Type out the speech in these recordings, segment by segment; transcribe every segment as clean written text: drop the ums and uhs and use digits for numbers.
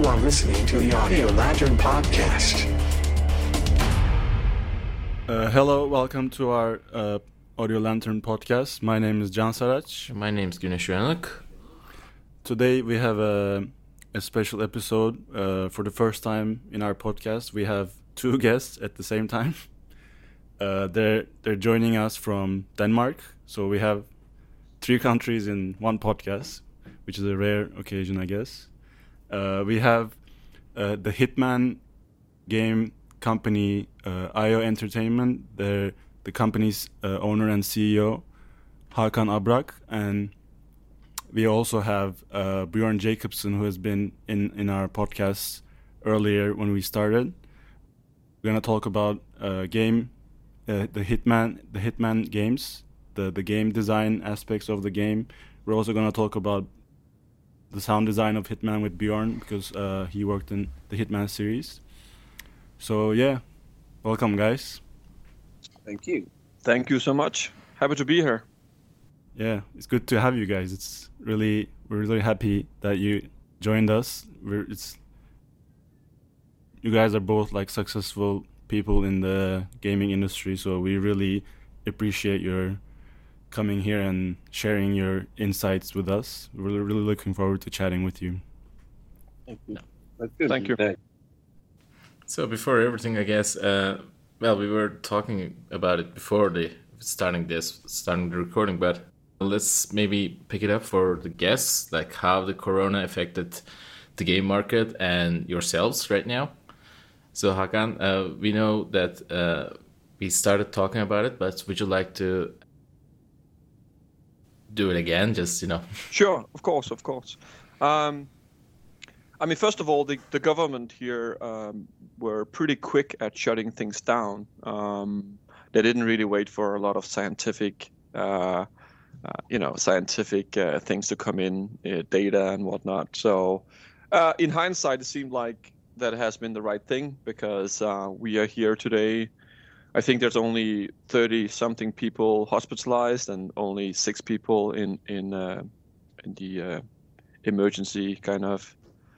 are listening to the Audio Lantern Podcast. Hello, welcome to our Audio Lantern Podcast. My name is Can Saraç. My name is Güneş Uyanık. Today we have a special episode. For the first time in our podcast, we have two guests at the same time. They're joining us from Denmark. So we have three countries in one podcast, which is a rare occasion, I guess. We have the Hitman game company, IO Entertainment. They're the company's owner and CEO, Hakan Abrak. And we also have Bjorn Jacobsen, who has been in our podcast earlier when we started. We're going to talk about the Hitman games, the game design aspects of the game. We're also going to talk about the sound design of Hitman with Bjorn, because he worked in the Hitman series. So yeah, welcome guys. Thank you. Thank you so much. Happy to be here. Yeah, it's good to have you guys. We're really happy that you joined us. You guys are both like successful people in the gaming industry, so we really appreciate your coming here and sharing your insights with us. We're really looking forward to chatting with you. Thank you. That's good. Thank you. So before everything, I guess, we were talking about it before starting the recording, but let's maybe pick it up for the guests, like how the corona affected the game market and yourselves right now. So Hakan, we know that we started talking about it, but would you like to do it again? Sure, of course. First of all, the government here were pretty quick at shutting things down. They didn't really wait for a lot of scientific things to come in, data and whatnot. So, in hindsight, it seemed like that has been the right thing, because we are here today. I think there's only 30-something people hospitalized and only 6 people in the emergency kind of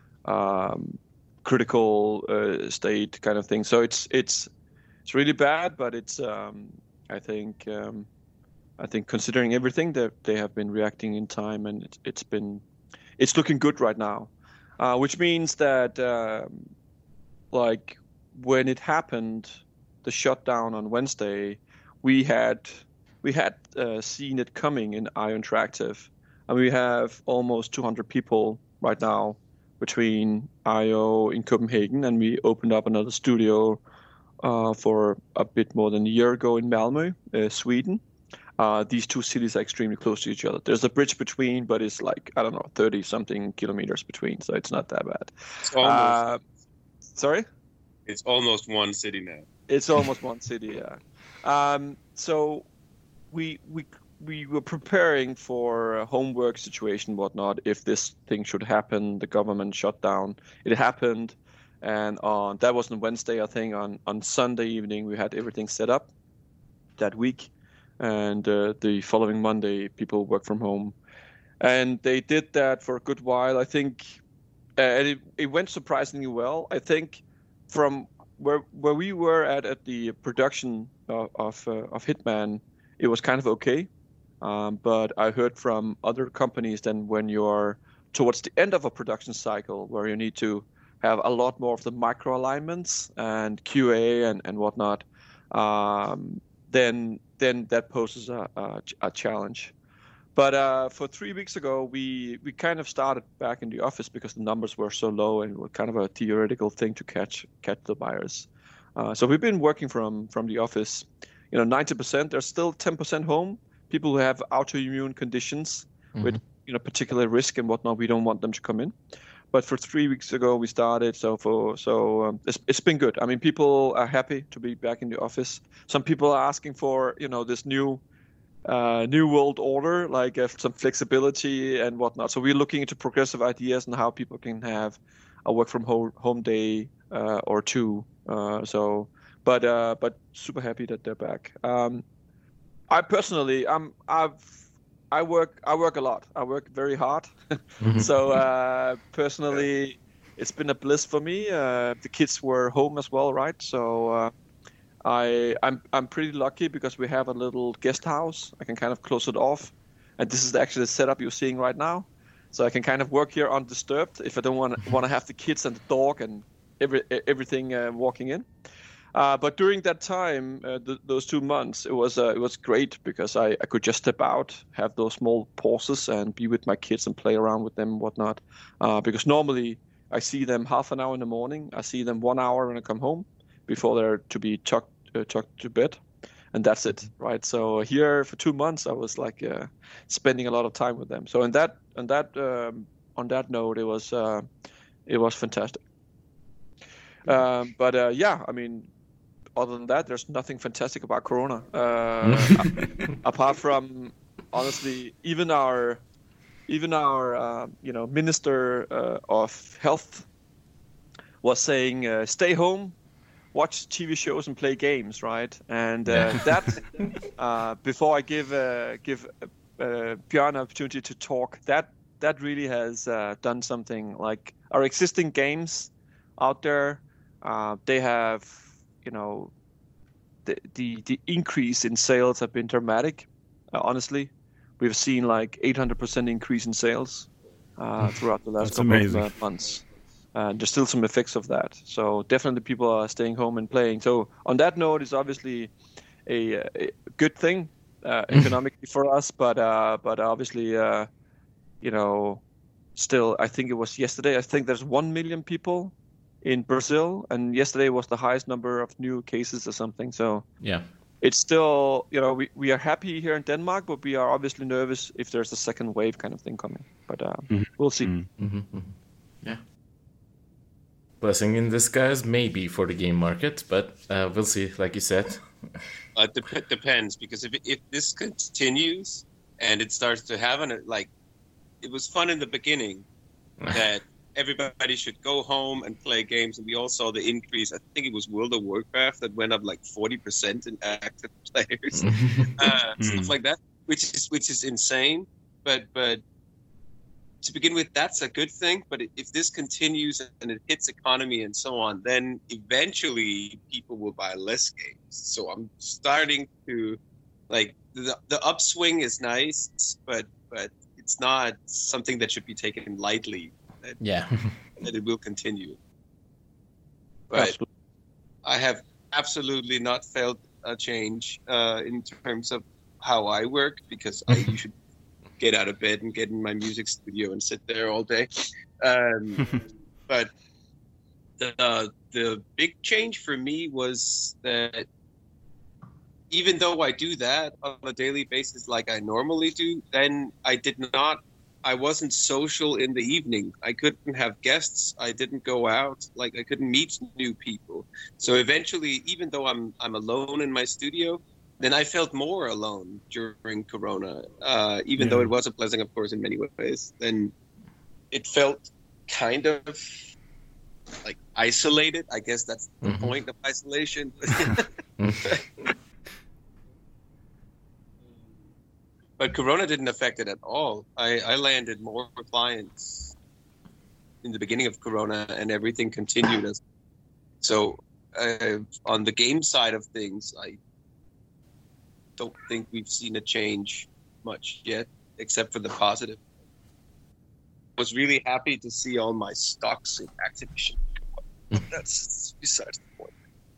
critical state kind of thing. So it's really bad, but it's I think considering everything, that they have been reacting in time, and it's looking good right now, which means that like when it happened, the shutdown on Wednesday, we had seen it coming in IO Interactive, and we have almost 200 people right now between IO in Copenhagen, and we opened up another studio for a bit more than a year ago in Malmö, Sweden. These two cities are extremely close to each other. There's a bridge between, but it's like, 30-something kilometers between, so it's not that bad. It's almost, sorry? It's almost one city now. It's almost one city, yeah. So we were preparing for a homework situation, whatnot, if this thing should happen, the government shut down. It happened, and that was on Wednesday, I think. On Sunday evening, we had everything set up that week, and the following Monday, people work from home. And they did that for a good while, I think, and it went surprisingly well. I think from where we were at the production of Hitman, it was kind of okay. But I heard from other companies that when you're towards the end of a production cycle, where you need to have a lot more of the micro alignments and QA and whatnot, then that poses a challenge. But for 3 weeks ago, we kind of started back in the office because the numbers were so low, and it was kind of a theoretical thing to catch the virus. So we've been working from the office. 90%. There's still 10% home. People who have autoimmune conditions with particular risk and whatnot, we don't want them to come in. But for 3 weeks ago, we started. It's been good. I mean, people are happy to be back in the office. Some people are asking for this new world order, like some flexibility and whatnot. So we're looking into progressive ideas and how people can have a work from home day or two. But super happy that they're back. I personally, I work a lot. I work very hard. So personally, it's been a bliss for me. The kids were home as well, right? So I'm pretty lucky because we have a little guest house. I can kind of close it off, and this is actually the setup you're seeing right now. So I can kind of work here undisturbed if I don't want to have the kids and the dog and everything walking in. But during that time, those 2 months, it was great because I could just step out, have those small pauses, and be with my kids and play around with them and whatnot. Because normally I see them half an hour in the morning. I see them 1 hour when I come home before they're to be tucked to bed, and that's it, right? So here for 2 months, I was like spending a lot of time with them. So on that note, it was fantastic. But yeah, I mean, other than that, there's nothing fantastic about Corona. Apart from, honestly, even our Minister of Health was saying, stay home, watch TV shows and play games, right? And that, before I give Björn an opportunity to talk, that really has done something. Like our existing games out there, they have, the increase in sales have been dramatic. Honestly, we've seen like 800% increase in sales throughout the last couple of months. And there's still some effects of that. So definitely people are staying home and playing. So on that note, it's obviously a good thing economically for us. But obviously, still, I think it was yesterday. I think there's 1 million people in Brazil, and yesterday was the highest number of new cases or something. So yeah, it's still, we are happy here in Denmark, but we are obviously nervous if there's a second wave kind of thing coming. But we'll see. Yeah. Blessing in disguise, maybe, for the game market, but we'll see, like you said. It depends, because if this continues and it starts to have it was fun in the beginning that everybody should go home and play games, and we all saw the increase. I think it was World of Warcraft that went up like 40% in active players, stuff like that, which is insane. But to begin with, that's a good thing. But if this continues and it hits economy and so on, then eventually people will buy less games. So I'm starting to the upswing is nice, but it's not something that should be taken lightly. That it will continue. But absolutely. I have absolutely not felt a change in terms of how I work, because I usually get out of bed and get in my music studio and sit there all day. But the big change for me was that even though I do that on a daily basis like I normally do, then I wasn't social in the evening. I couldn't have guests. I didn't go out. I couldn't meet new people. So eventually, even though I'm alone in my studio, then I felt more alone during Corona. Even though it was a blessing, of course, in many ways, then it felt kind of like isolated. I guess that's the point of isolation. But Corona didn't affect it at all. I landed more clients in the beginning of Corona, and everything continued. So on the game side of things, I don't think we've seen a change much yet, except for the positive. I was really happy to see all my stocks in Activision. That's besides the point.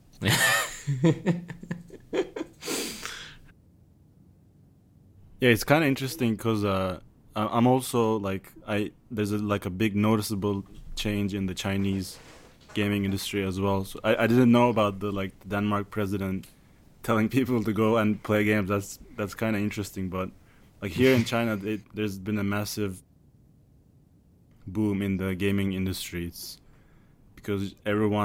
Yeah, it's kind of interesting because I'm also there's a big noticeable change in the Chinese gaming industry as well. So I didn't know about the Denmark president telling people to go and play games. That's kind of interesting. But here in China, there's been a massive boom in the gaming industry. It's because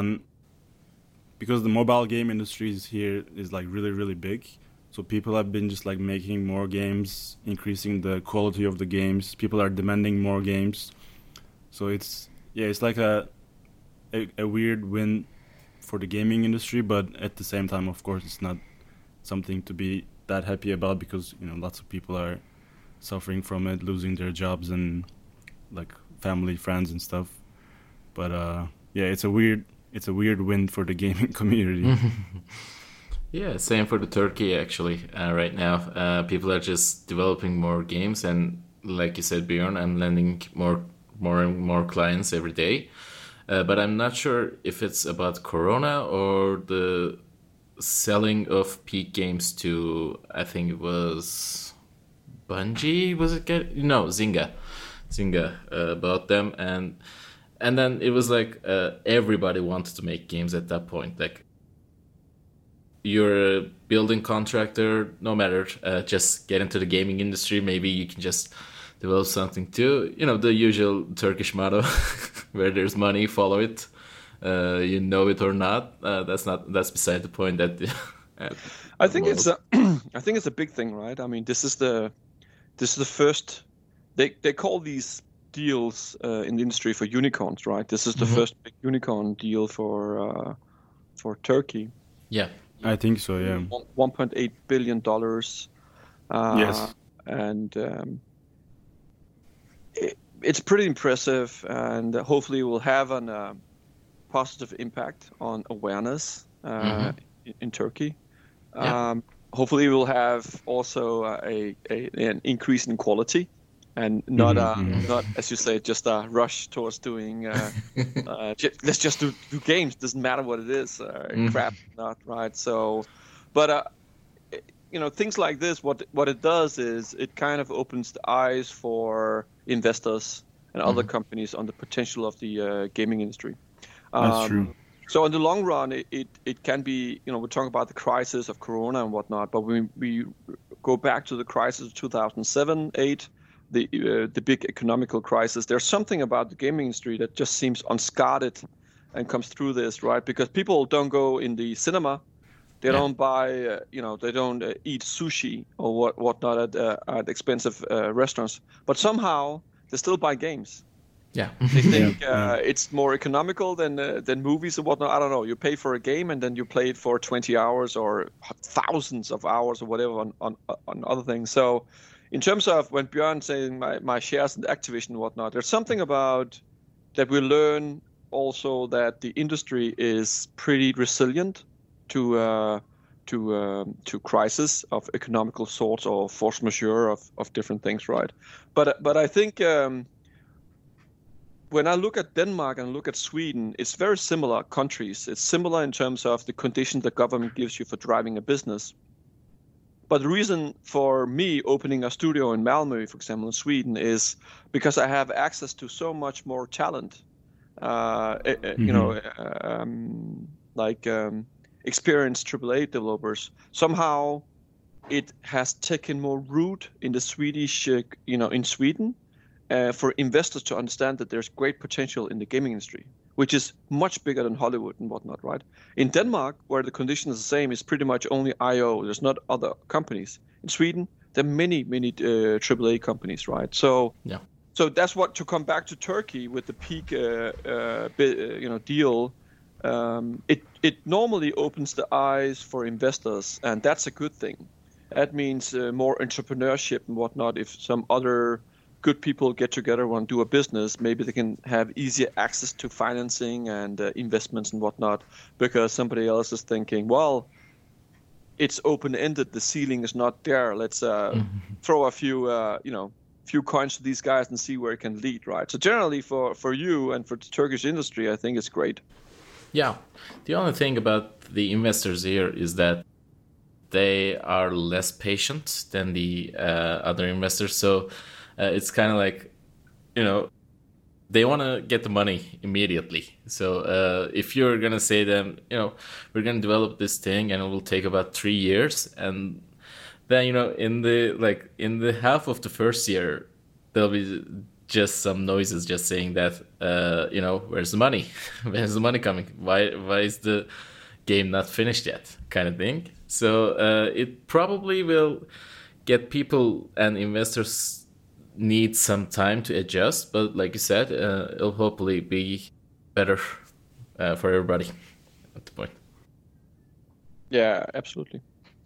the mobile game industry here is really, really big. So people have been just making more games, increasing the quality of the games. People are demanding more games. So it's like a weird win for the gaming industry, but at the same time, of course, it's not something to be that happy about, because lots of people are suffering from it, losing their jobs and family, friends and stuff. But yeah, it's a weird win for the gaming community. Yeah, same for the Turkey actually. Right now, people are just developing more games, and like you said, Bjorn, I'm landing more and more clients every day. But I'm not sure if it's about Corona or the selling of Peak games to, I think it was Bungie. Was it no, Zynga bought them, and then it was like everybody wanted to make games at that point. Like, you're a building contractor, no matter, just get into the gaming industry. Maybe you can just develop something too. You know, the usual Turkish motto, where there's money, follow it. You know it or not. That's beside the point. That I think it's a big thing, right? I mean, this is the first. They call these deals in the industry for unicorns, right? This is the first big unicorn deal for Turkey. Yeah, I think so. Yeah, $1.8 billion. Yes, and it's pretty impressive, and hopefully it will have a positive impact on awareness in Turkey. Yeah. Hopefully it will have also an increase in quality, and not as you say, just a rush towards doing let's just do games. Doesn't matter what it is, crap, not right. So, but you know, things like this, what it does is it kind of opens the eyes for investors and other companies on the potential of the gaming industry. That's true. So in the long run, it can be, you know, we're talking about the crisis of Corona and whatnot, but when we go back to the crisis of 2007-8, the big economical crisis, there's something about the gaming industry that just seems unscarred and comes through this, right? Because people don't go in the cinema, they don't buy, they don't eat sushi or whatnot at expensive restaurants, but somehow they still buy games. Yeah. They think it's more economical than movies and whatnot. I don't know. You pay for a game and then you play it for 20 hours or thousands of hours or whatever on other things. So in terms of when Björn saying my shares in Activision and whatnot, there's something about that we learn also that the industry is pretty resilient to crisis of economical sorts or force majeure of different things, right? But I think when I look at Denmark and look at Sweden, it's very similar countries. It's similar in terms of the conditions the government gives you for driving a business. But the reason for me opening a studio in Malmö, for example, in Sweden, is because I have access to so much more talent. Experienced AAA developers. Somehow, it has taken more root in the Swedish, in Sweden, for investors to understand that there's great potential in the gaming industry, which is much bigger than Hollywood and whatnot, right? In Denmark, where the condition is the same, it's pretty much only IO. There's not other companies. In Sweden, there are many AAA companies, right? So, So that's what, to come back to Turkey with the Peak, deal. It normally opens the eyes for investors, and that's a good thing. That means more entrepreneurship and whatnot. If some other good people get together and want to do a business, maybe they can have easier access to financing and investments and whatnot, because somebody else is thinking, well, it's open-ended, the ceiling is not there. Let's throw a few coins to these guys and see where it can lead, right? So generally for you and for the Turkish industry, I think it's great. Yeah. The only thing about the investors here is that they are less patient than the other investors. So it's kind of like, they want to get the money immediately. So if you're going to say them, we're going to develop this thing and it will take about 3 years. And then, in the half of the first year, there'll be just some noises just saying that, where's the money? Where's the money coming? Why is the game not finished yet? Kind of thing. So it probably will get people and investors need some time to adjust. But like you said, it'll hopefully be better for everybody at the point. Yeah, absolutely.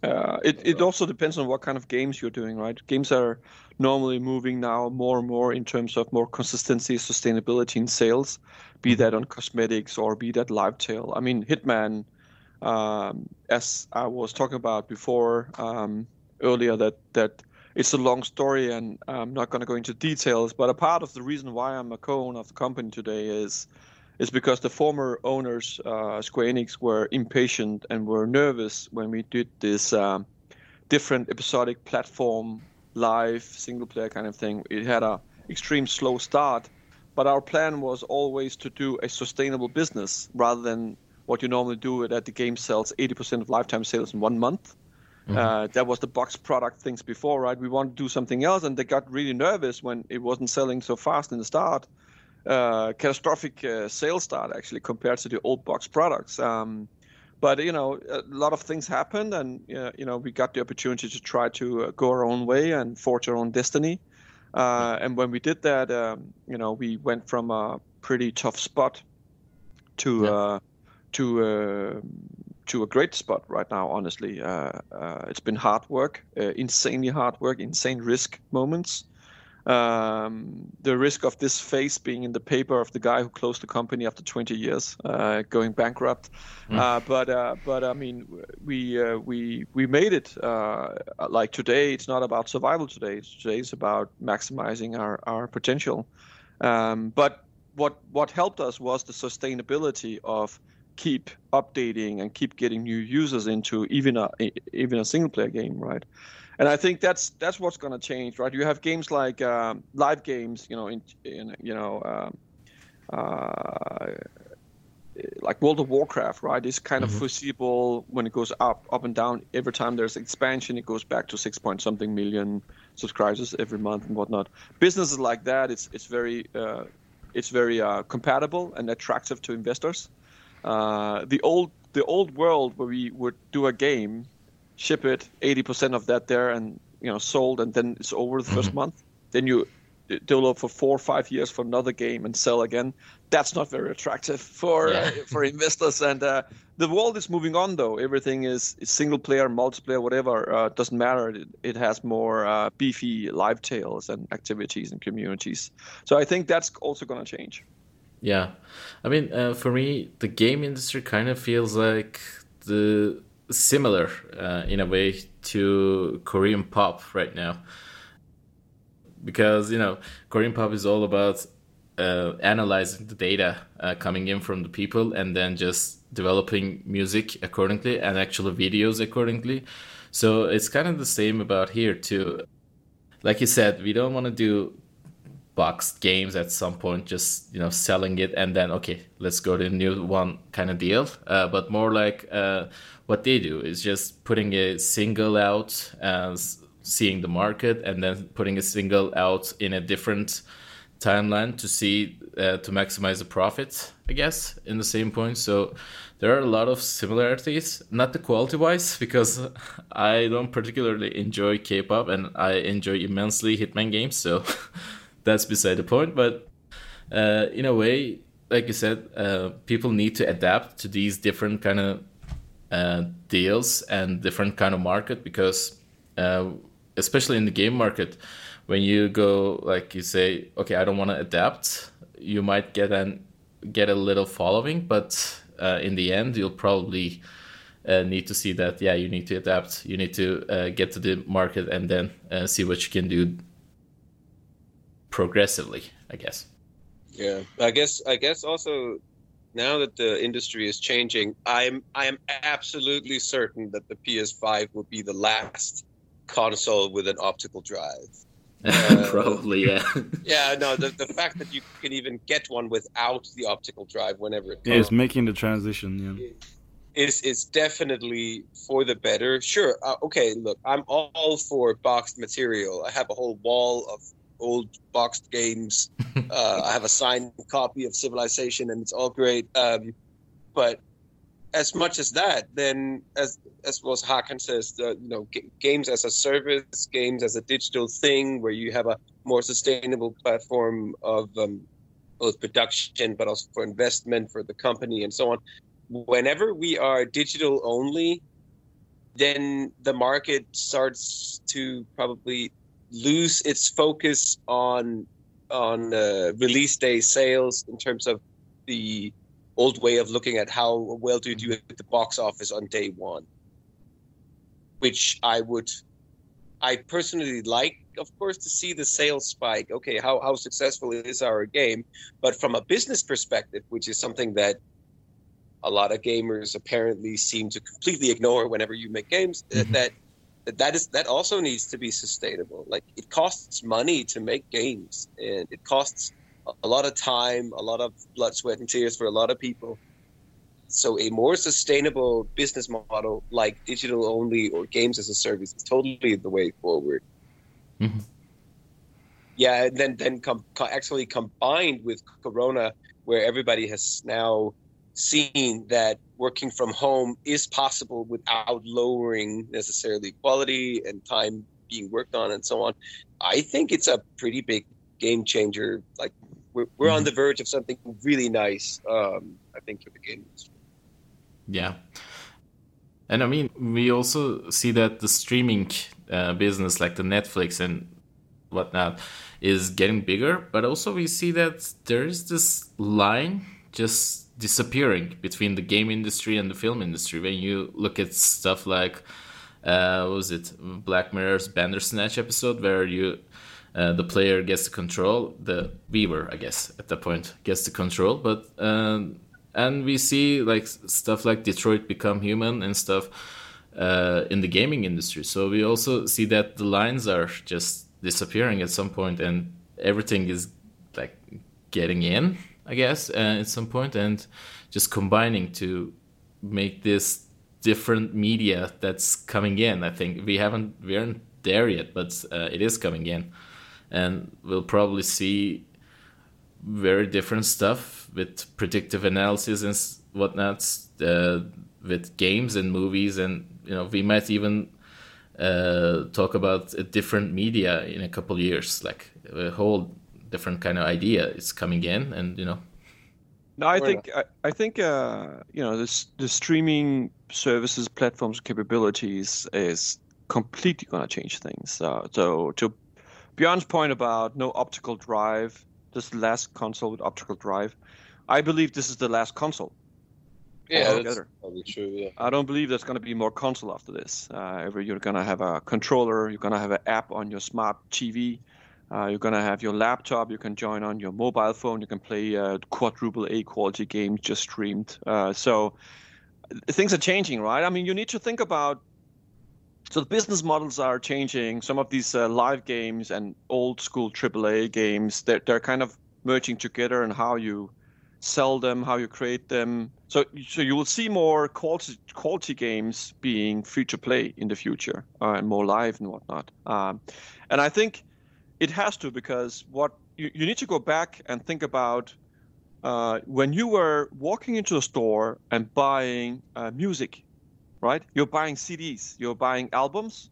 It also depends on what kind of games you're doing, right? Games are normally moving now more and more in terms of more consistency, sustainability in sales, be that on cosmetics or be that live tail. I mean, Hitman, as I was talking about before earlier, that it's a long story and I'm not going to go into details, but a part of the reason why I'm a co-owner of the company today is because the former owners, Square Enix, were impatient and were nervous when we did this different episodic platform, live, single-player kind of thing. It had a extreme slow start, but our plan was always to do a sustainable business rather than what you normally do that the game sells 80% of lifetime sales in 1 month. That was the box product things before, right? We wanted to do something else, and they got really nervous when it wasn't selling so fast in the start. Catastrophic sales start actually compared to the old box products. But a lot of things happened, and we got the opportunity to try to go our own way and forge our own destiny. And when we did that, we went from a pretty tough spot to a great spot right now. Honestly, it's been hard work, insanely hard work, insane risk moments. The risk of this face being in the paper of the guy who closed the company after 20 years, going bankrupt. But I mean, we made it. Like today, it's not about survival. Today it's about maximizing our potential. But what helped us was the sustainability of keep updating and keep getting new users into even a single player game, right? And I think that's what's going to change, right? You have games like live games, like World of Warcraft, right? It's kind of foreseeable when it goes up and down. Every time there's expansion, it goes back to 6-point-something million subscribers every month and whatnot. Businesses like that, it's very compatible and attractive to investors. The old world where we would do a game, ship it, 80% of that there, and sold, and then it's over the first month. Then you develop for 4 or 5 years for another game and sell again. That's not very attractive for investors. And the world is moving on, though. Everything is single player, multiplayer, whatever. Doesn't matter. It has more beefy live tails and activities and communities. So I think that's also going to change. Yeah, I mean, for me, the game industry kind of feels like similar in a way to Korean pop right now, because Korean pop is all about analyzing the data coming in from the people and then just developing music accordingly and actual videos accordingly. So it's kind of the same about here too. Like you said, we don't want to do boxed games at some point, just selling it and then okay, let's go to a new one kind of deal, but more like what they do is just putting a single out as seeing the market and then putting a single out in a different timeline to see to maximize the profit, I guess, in the same point. So there are a lot of similarities, not the quality wise, because I don't particularly enjoy K-pop and I enjoy immensely Hitman games, so that's beside the point. But in a way, like you said, people need to adapt to these different kind of deals and different kind of market, because especially in the game market, when you go, like you say, okay, I don't want to adapt, you might get a little following, but in the end, you'll probably need to see that, you need to adapt, you need to get to the market and then see what you can do progressively, I guess. Yeah, I guess also now that the industry is changing, I am absolutely certain that the PS5 will be the last console with an optical drive. Probably, yeah. Yeah, no, the fact that you can even get one without the optical drive whenever it comes. Yeah, it's making the transition, It's definitely for the better. Sure, okay, look, I'm all for boxed material. I have a whole wall of old boxed games. I have a signed copy of Civilization, and it's all great. But as much as that, then as was Hakan says, games as a service, games as a digital thing, where you have a more sustainable platform of both production, but also for investment for the company and so on. Whenever we are digital only, then the market starts to probably lose its focus on release day sales in terms of the old way of looking at how well do you do at the box office on day one, which I personally like, of course, to see the sales spike. Okay, how successful is our game? But from a business perspective, which is something that a lot of gamers apparently seem to completely ignore whenever you make games, that also needs to be sustainable. Like, it costs money to make games, and it costs a lot of time, a lot of blood, sweat, and tears for a lot of people. So a more sustainable business model like digital only or games as a service is totally the way forward. Mm-hmm. Yeah, and then actually combined with Corona, where everybody has now seen that working from home is possible without lowering necessarily quality and time being worked on and so on. I think it's a pretty big game changer. Like, we're on the verge of something really nice, I think, for the game industry. Yeah. And I mean, we also see that the streaming business, like the Netflix and whatnot, is getting bigger. But also we see that there is this line just disappearing between the game industry and the film industry. When you look at stuff like, what was it, Black Mirror's Bandersnatch episode, where the player gets the control, the viewer, I guess, at that point, gets the control. But and we see like stuff like Detroit Become Human and stuff in the gaming industry. So we also see that the lines are just disappearing at some point, and everything is like getting in, I guess, at some point, and just combining to make this different media that's coming in. I think we aren't there yet, but it is coming in. And we'll probably see very different stuff with predictive analysis and whatnot, with games and movies, and we might even talk about a different media in a couple of years, like a whole different kind of idea is coming in, and No, I think the streaming services, platforms, capabilities is completely going to change things. So to Bjørn's point about no optical drive, this is the last console with optical drive, I believe this is the last console. Yeah, that's probably true. Yeah, I don't believe there's going to be more console after this. You're going to have a controller, you're going to have an app on your smart TV, you're going to have your laptop, you can join on your mobile phone, you can play quadruple A quality games just streamed. So things are changing, right? I mean, you need to think about, so the business models are changing. Some of these live games and old school AAA games, they're kind of merging together, and how you sell them, how you create them. So you will see more quality games being free to play in the future, and more live and whatnot. And I think it has to, because what you need to go back and think about when you were walking into a store and buying music, right? You're buying CDs, you're buying albums.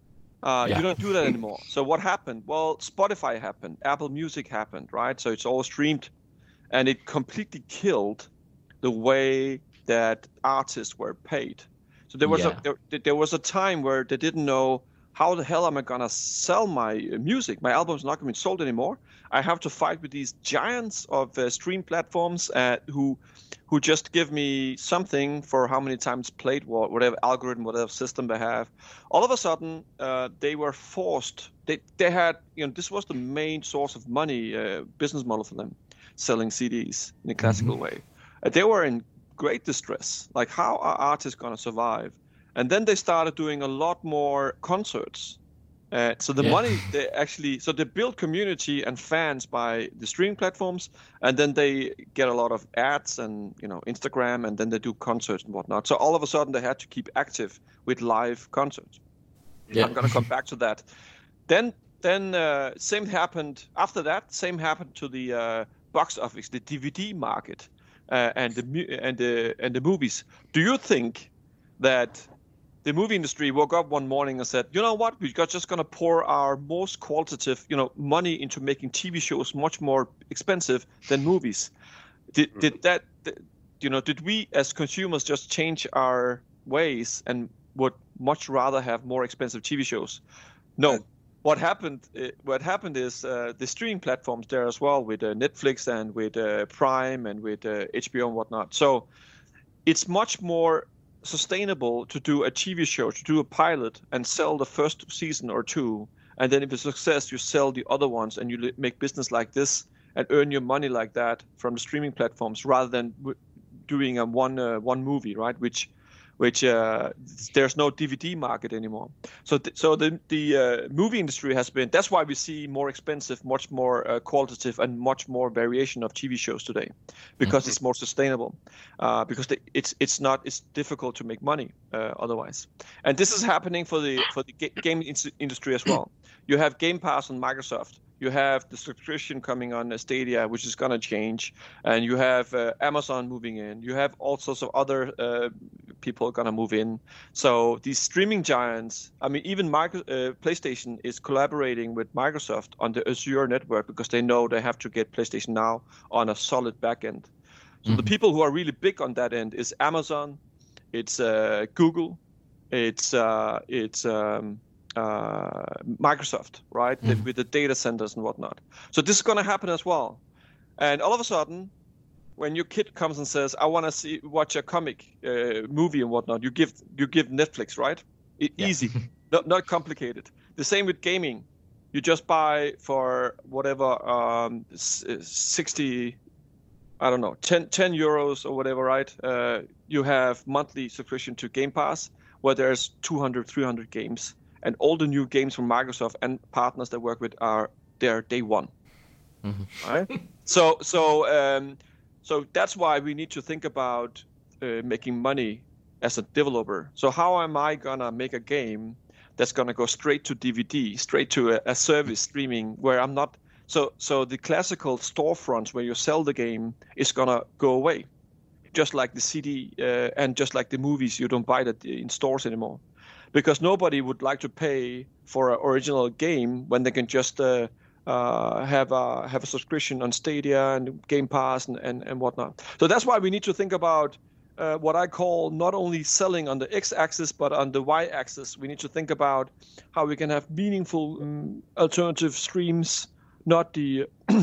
You don't do that anymore. So what happened? Well, Spotify happened, Apple Music happened, right? So it's all streamed, and it completely killed the way that artists were paid. So there was a time where they didn't know, how the hell am I gonna sell my music? My album's not gonna be sold anymore. I have to fight with these giants of stream platforms who just give me something for how many times played, whatever algorithm, whatever system they have. All of a sudden, they were forced. They had, this was the main source of money, business model for them, selling CDs in a classical way. They were in great distress. Like, how are artists gonna survive? And then they started doing a lot more concerts. So the money, they build community and fans by the streaming platforms, and then they get a lot of ads and Instagram, and then they do concerts and whatnot. So all of a sudden they had to keep active with live concerts. Yeah. I'm gonna come back to that. Then same happened after that. Same happened to the box office, the DVD market, and the movies. Do you think that the movie industry woke up one morning and said, you know what, we're just going to pour our most qualitative, money into making TV shows much more expensive than movies? Did we as consumers just change our ways, and would much rather have more expensive TV shows. No. What happened is the streaming platforms there as well, with Netflix and with Prime and with HBO and whatnot. So it's much more sustainable to do a TV show, to do a pilot and sell the first season or two, and then if it's a success, you sell the other ones and you make business like this and earn your money like that from the streaming platforms, rather than doing a one movie, right? Which there's no DVD market anymore. So the movie industry has been. That's why we see more expensive, much more qualitative, and much more variation of TV shows today, because it's more sustainable. Because it's difficult to make money otherwise. And this is happening for the game industry as well. You have Game Pass on Microsoft. You have the subscription coming on Stadia, which is going to change, and you have Amazon moving in. You have all sorts of other people going to move in. So these streaming giants, I mean, even PlayStation is collaborating with Microsoft on the Azure network, because they know they have to get PlayStation Now on a solid backend. So the people who are really big on that end is Amazon, it's Google, it's Microsoft, right? With the data centers and whatnot. So this is going to happen as well. And all of a sudden, when your kid comes and says, "I want to watch a comic movie and whatnot," you give Netflix, right? Easy, not complicated. The same with gaming. You just buy for whatever 60, I don't know, 10 euros or whatever, right? You have monthly subscription to Game Pass, where there's 200, 300 games. And all the new games from Microsoft and partners they work with are there day one, right? So that's why we need to think about making money as a developer. So how am I gonna make a game that's gonna go straight to DVD, straight to a service streaming, where I'm not? So the classical storefronts where you sell the game is gonna go away, just like the CD and just like the movies. You don't buy that in stores anymore. Because nobody would like to pay for an original game when they can just have a subscription on Stadia and Game Pass and whatnot. So that's why we need to think about what I call not only selling on the X-axis but on the Y-axis. We need to think about how we can have meaningful alternative streams, not the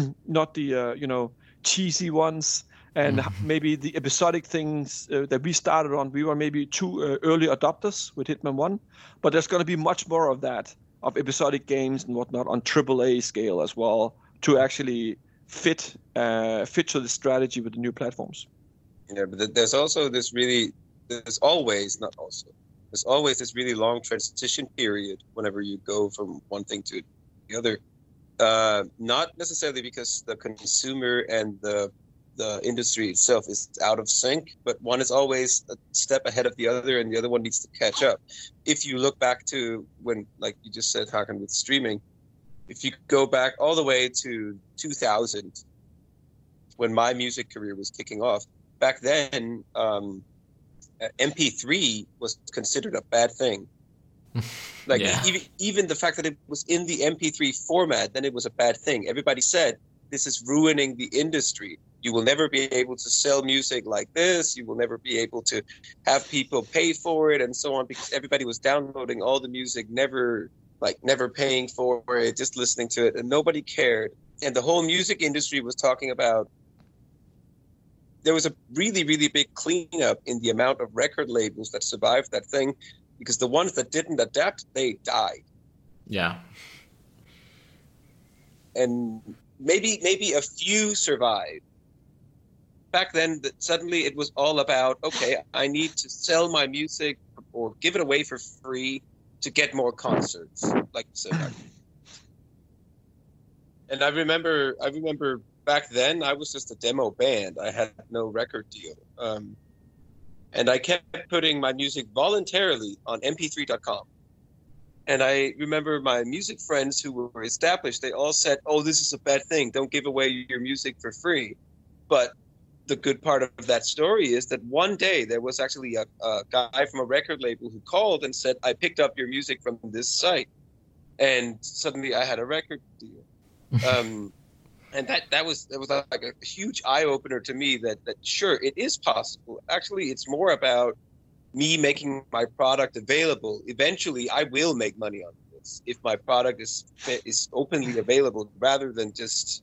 cheesy ones. And maybe the episodic things that we started on, we were maybe too early adopters with Hitman 1. But there's going to be much more of that, of episodic games and whatnot on AAA scale as well, to actually fit to the strategy with the new platforms. Yeah, but there's also this there's always this really long transition period whenever you go from one thing to the other. Not necessarily because the consumer and the industry itself is out of sync, but one is always a step ahead of the other, and the other one needs to catch up. If you look back to when, like you just said, Hakan, with streaming, if you go back all the way to 2000, when my music career was kicking off, back then, MP3 was considered a bad thing. Like even the fact that it was in the MP3 format, then it was a bad thing. Everybody said, this is ruining the industry. You will never be able to sell music like this. You will never be able to have people pay for it and so on, because everybody was downloading all the music, never paying for it, just listening to it, and nobody cared. And the whole music industry was talking about, there was a really, really big cleanup in the amount of record labels that survived that thing, because the ones that didn't adapt, they died. Yeah. And maybe a few survived. Back then, suddenly it was all about, okay, I need to sell my music or give it away for free to get more concerts, like you said. And I remember back then I was just a demo band. I had no record deal. And I kept putting my music voluntarily on mp3.com. And I remember my music friends who were established, they all said, "Oh, this is a bad thing. Don't give away your music for free." But the good part of that story is that one day there was actually a guy from a record label who called and said, "I picked up your music from this site." And suddenly I had a record deal. And that was like a huge eye-opener to me that sure, it is possible. Actually, it's more about me making my product available, eventually I will make money on this if my product is openly available, rather than just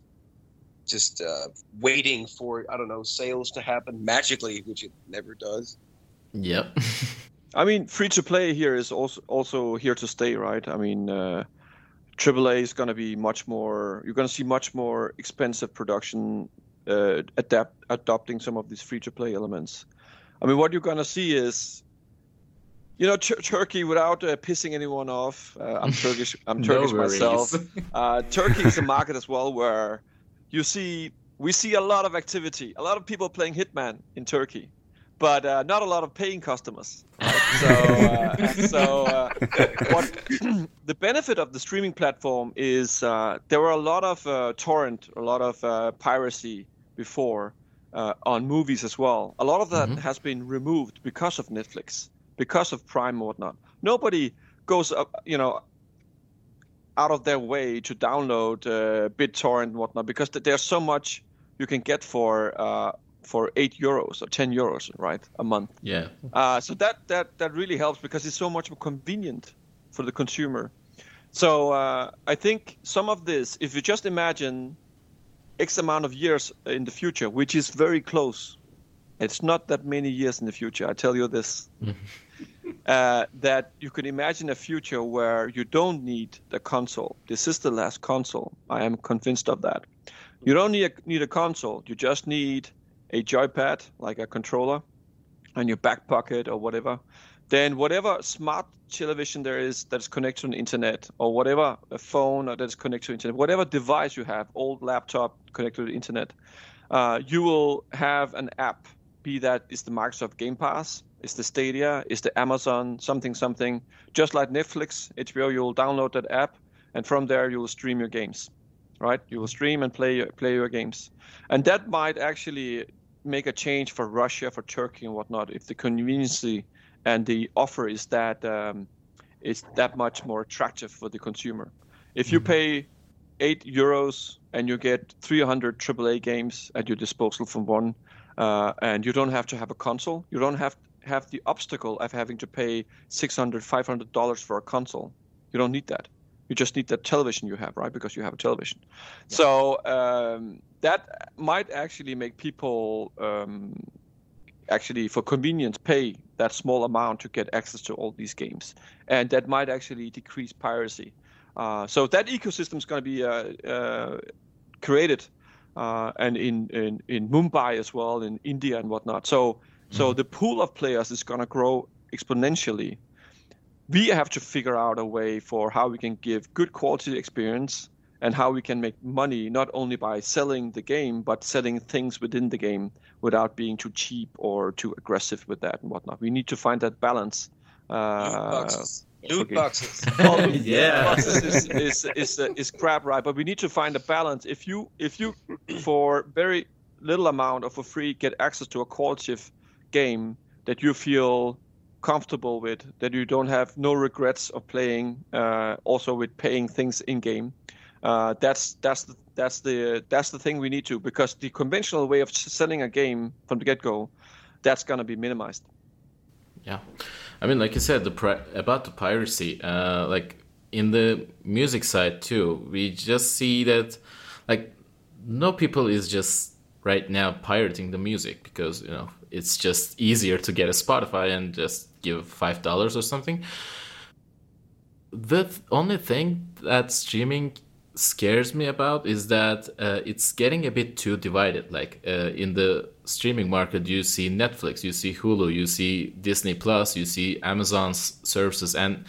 waiting for, I don't know, sales to happen magically, which it never does. Yep. I mean, free to play here is also here to stay, right? I mean, AAA is going to be much more. You're going to see much more expensive production adopting some of these free to play elements. I mean, what you're going to see is, you know, Turkey, without pissing anyone off. I'm Turkish. I'm Turkish myself. Turkey is a market as well where we see a lot of activity, a lot of people playing Hitman in Turkey, but not a lot of paying customers. Right? What the benefit of the streaming platform is, there were a lot of torrent, a lot of piracy before on movies as well. A lot of that has been removed because of Netflix, because of Prime and whatnot. Nobody goes up, you know, out of their way to download BitTorrent and whatnot, because there's so much you can get for €8 or €10, right, a month. Yeah. So that really helps, because it's so much more convenient for the consumer. So I think some of this, if you just imagine X amount of years in the future, which is very close, it's not that many years in the future, I tell you this, that you can imagine a future where you don't need the console. This is the last console. I am convinced of that. You don't need a console. You just need a joypad, like a controller, in your back pocket or whatever. Then whatever smart television there is that's connected to the internet, or whatever a phone that's connected to the internet, whatever device you have, old laptop connected to the internet, you will have an app. Be that is the Microsoft Game Pass, is the Stadia, is the Amazon something. Just like Netflix, HBO, you will download that app, and from there you will stream your games, right? You will stream and play your games, and that might actually make a change for Russia, for Turkey, and whatnot, if the convenience and the offer is that much more attractive for the consumer. If you pay €8 and you get 300 AAA games at your disposal from one, and you don't have to have a console, you don't have the obstacle of having to pay $600, $500 for a console. You don't need that. You just need that television you have, right? Because you have a television. Yeah. So that might actually make people actually, for convenience, pay that small amount to get access to all these games, and that might actually decrease piracy. So that ecosystem is going to be created, and in Mumbai as well, in India and whatnot. So the pool of players is going to grow exponentially. We have to figure out a way for how we can give good quality experience, and how we can make money not only by selling the game, but selling things within the game without being too cheap or too aggressive with that and whatnot. We need to find that balance. Loot boxes. Well, yeah. boxes is crap, right? But we need to find a balance. If you for very little amount or for free get access to a quality game that you feel comfortable with, that you don't have no regrets of playing, also with paying things in game. That's the thing we need to, because the conventional way of selling a game from the get-go, that's gonna be minimized. Yeah, I mean, like you said, about the piracy, like in the music side too, we just see that, like, no people is just right now pirating the music, because, you know, it's just easier to get a Spotify and just give $5 or something. The only thing that streaming scares me about is that it's getting a bit too divided. Like in the streaming market, you see Netflix, you see Hulu, you see Disney Plus, you see Amazon's services, and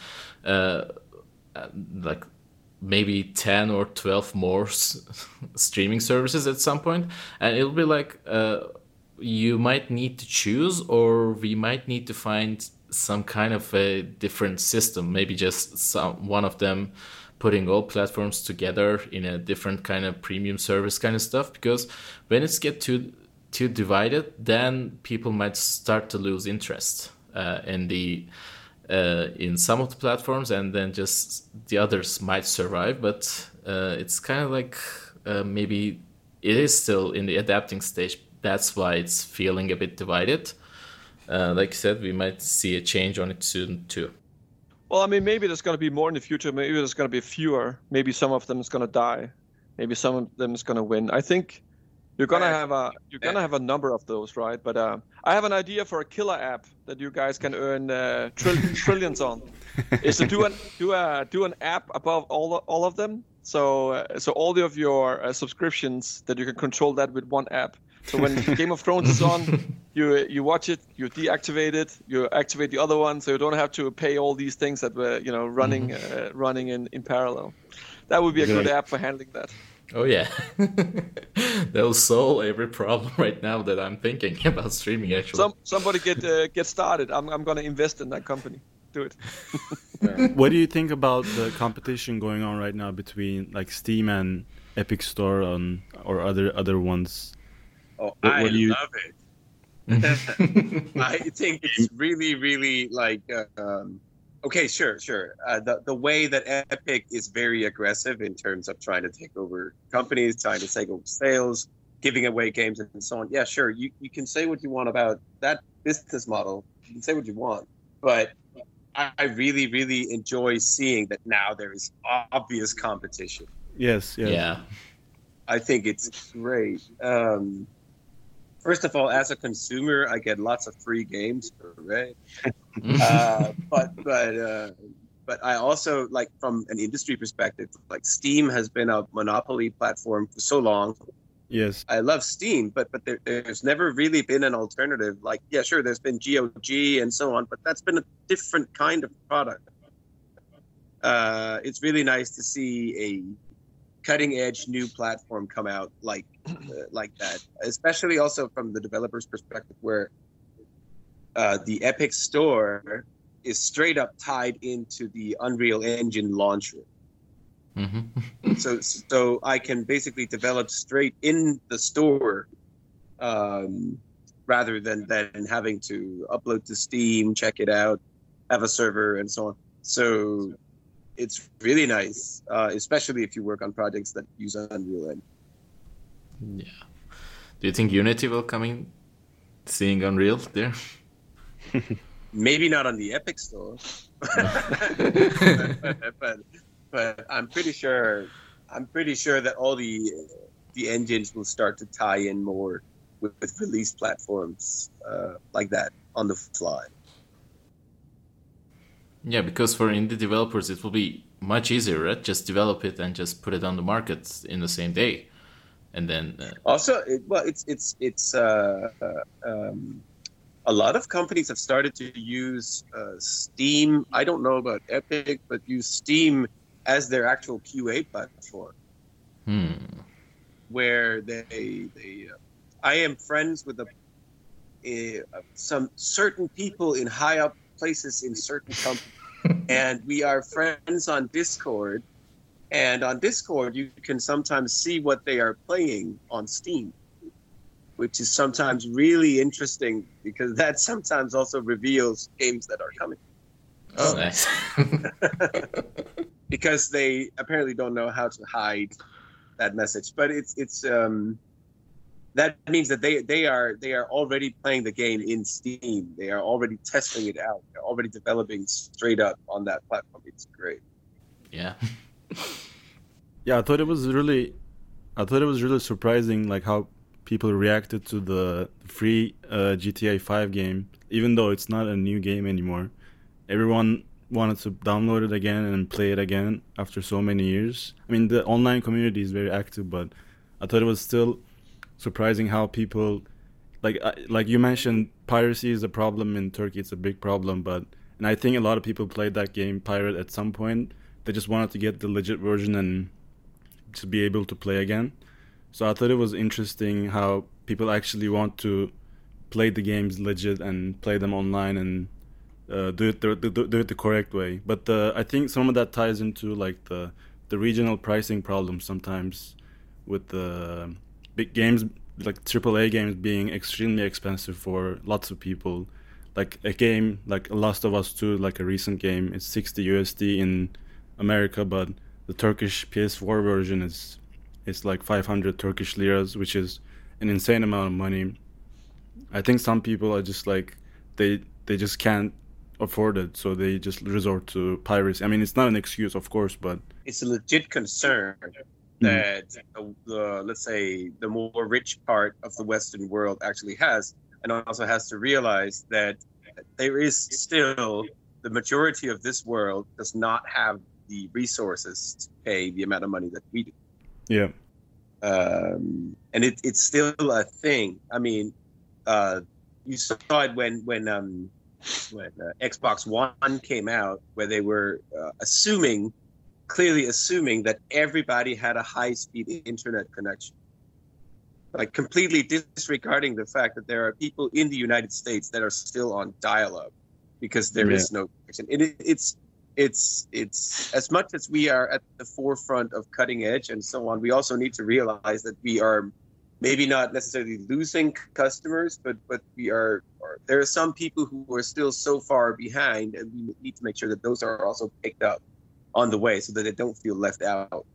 like maybe 10 or 12 more streaming services at some point, and it'll be like you might need to choose, or we might need to find some kind of a different system, maybe just one of them putting all platforms together in a different kind of premium service kind of stuff. Because when it's get too divided, then people might start to lose interest in some of the platforms, and then just the others might survive. But it's kind of like maybe it is still in the adapting stage. That's why it's feeling a bit divided. like you said, we might see a change on it soon too. Well, I mean, maybe there's going to be more in the future. Maybe there's going to be fewer. Maybe some of them is going to die. Maybe some of them is going to win. I think you're going to have a number of those, right? But I have an idea for a killer app that you guys can earn trillions on. Is to do an app above all of them. So all of your subscriptions that you can control that with one app. So when Game of Thrones is on, you watch it, you deactivate it, you activate the other one, so you don't have to pay all these things that were running in parallel. That would be a good app for handling that. Oh yeah, that'll solve every problem right now that I'm thinking about streaming. Actually, somebody get started. I'm gonna invest in that company. Do it. What do you think about the competition going on right now between like Steam and Epic Store or other ones? Oh, I love it. I think it's really, really like, okay, sure. The way that Epic is very aggressive in terms of trying to take over companies, trying to take over sales, giving away games and so on. Yeah, sure. You can say what you want about that business model. You can say what you want. But I really, really enjoy seeing that now there is obvious competition. Yes. Yeah. I think it's great. First of all, as a consumer, I get lots of free games, right? But I also, like, from an industry perspective, like Steam has been a monopoly platform for so long. Yes. I love Steam, but there's never really been an alternative. Like, yeah, sure, there's been GOG and so on, but that's been a different kind of product. It's really nice to see a cutting edge new platform come out like that, especially also from the developer's perspective, where the Epic Store is straight up tied into the Unreal Engine launcher. Mm-hmm. so I can basically develop straight in the store, rather than having to upload to Steam, check it out, have a server, and so on. So it's really nice, especially if you work on projects that use Unreal Engine. Yeah. Do you think Unity will come in, seeing Unreal there? Maybe not on the Epic Store, but I'm pretty sure that all the engines will start to tie in more with release platforms like that on the fly. Yeah, because for indie developers, it will be much easier, right? Just develop it and just put it on the market in the same day, and then. Also, a lot of companies have started to use Steam. I don't know about Epic, but use Steam as their actual QA platform. Where they I am friends with some certain people in high up places in certain companies, and we are friends on Discord. And on Discord, you can sometimes see what they are playing on Steam, which is sometimes really interesting because that sometimes also reveals games that are coming. Oh, nice. Because they apparently don't know how to hide that message. But it's that means that they are already playing the game in Steam. They are already testing it out. They're already developing straight up on that platform. It's great. Yeah. Yeah, I thought it was really surprising, like how people reacted to the free GTA 5 game, even though it's not a new game anymore. Everyone wanted to download it again and play it again after so many years. I mean, the online community is very active, but I thought it was still surprising how people, like you mentioned, piracy is a problem in Turkey. It's a big problem, and I think a lot of people played that game pirate at some point. They just wanted to get the legit version and to be able to play again. So I thought it was interesting how people actually want to play the games legit and play them online and do it the correct way. But I think some of that ties into like the regional pricing problem sometimes with the big games, like AAA games being extremely expensive for lots of people. Like a game like Last of Us 2, like a recent game, it's 60 USD in America, but the Turkish PS4 version is like 500 Turkish liras, which is an insane amount of money. I think some people are just like they just can't afford it, so they just resort to piracy. I mean, it's not an excuse, of course, but It's a legit concern that let's say the more rich part of the Western world actually has, and also has to realize that there is still the majority of this world does not have the resources to pay the amount of money that we do. yeah, And it's still a thing. I mean, you saw it when Xbox One came out, where they were clearly assuming that everybody had a high-speed internet connection, like completely disregarding the fact that there are people in the United States that are still on dial-up because there is no connection. It's as much as we are at the forefront of cutting edge and so on, we also need to realize that we are maybe not necessarily losing customers, but there are some people who are still so far behind, and we need to make sure that those are also picked up on the way so that they don't feel left out.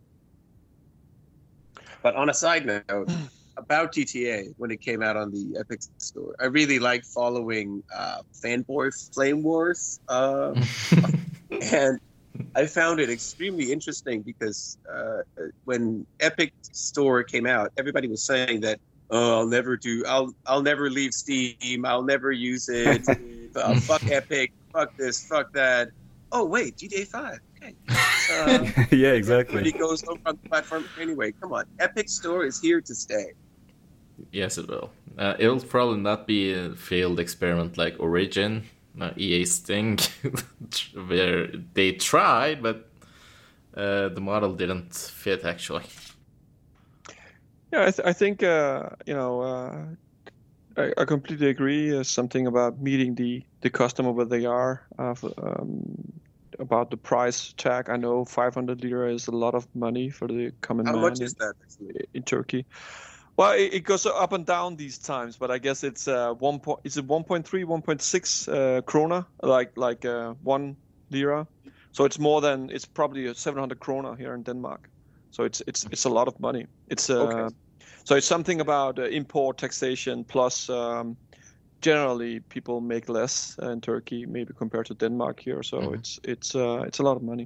But on a side note, about GTA, when it came out on the Epic Store, I really like following Fanboy Flame Wars. And I found it extremely interesting because when Epic Store came out, everybody was saying that, oh, I'll never leave Steam, I'll never use it, fuck Epic, fuck this, fuck that. Oh wait, GTA 5. Okay. yeah, exactly. Everybody goes over on the platform anyway. Come on, Epic Store is here to stay. Yes, it will. It'll probably not be a failed experiment like Origin, EA's thing, where they tried, but the model didn't fit, actually. Yeah, I think I completely agree. Something about meeting the customer where they are. About the price tag, I know 500 lira is a lot of money for the common man. How much is that actually in Turkey? Well, it goes up and down these times, but I guess it's 1.3, 1.6 krona, like 1 lira. So it's probably 700 krona here in Denmark. So it's a lot of money. It's Okay. So it's something about import taxation plus. Generally, people make less in Turkey, maybe compared to Denmark here. So it's a lot of money.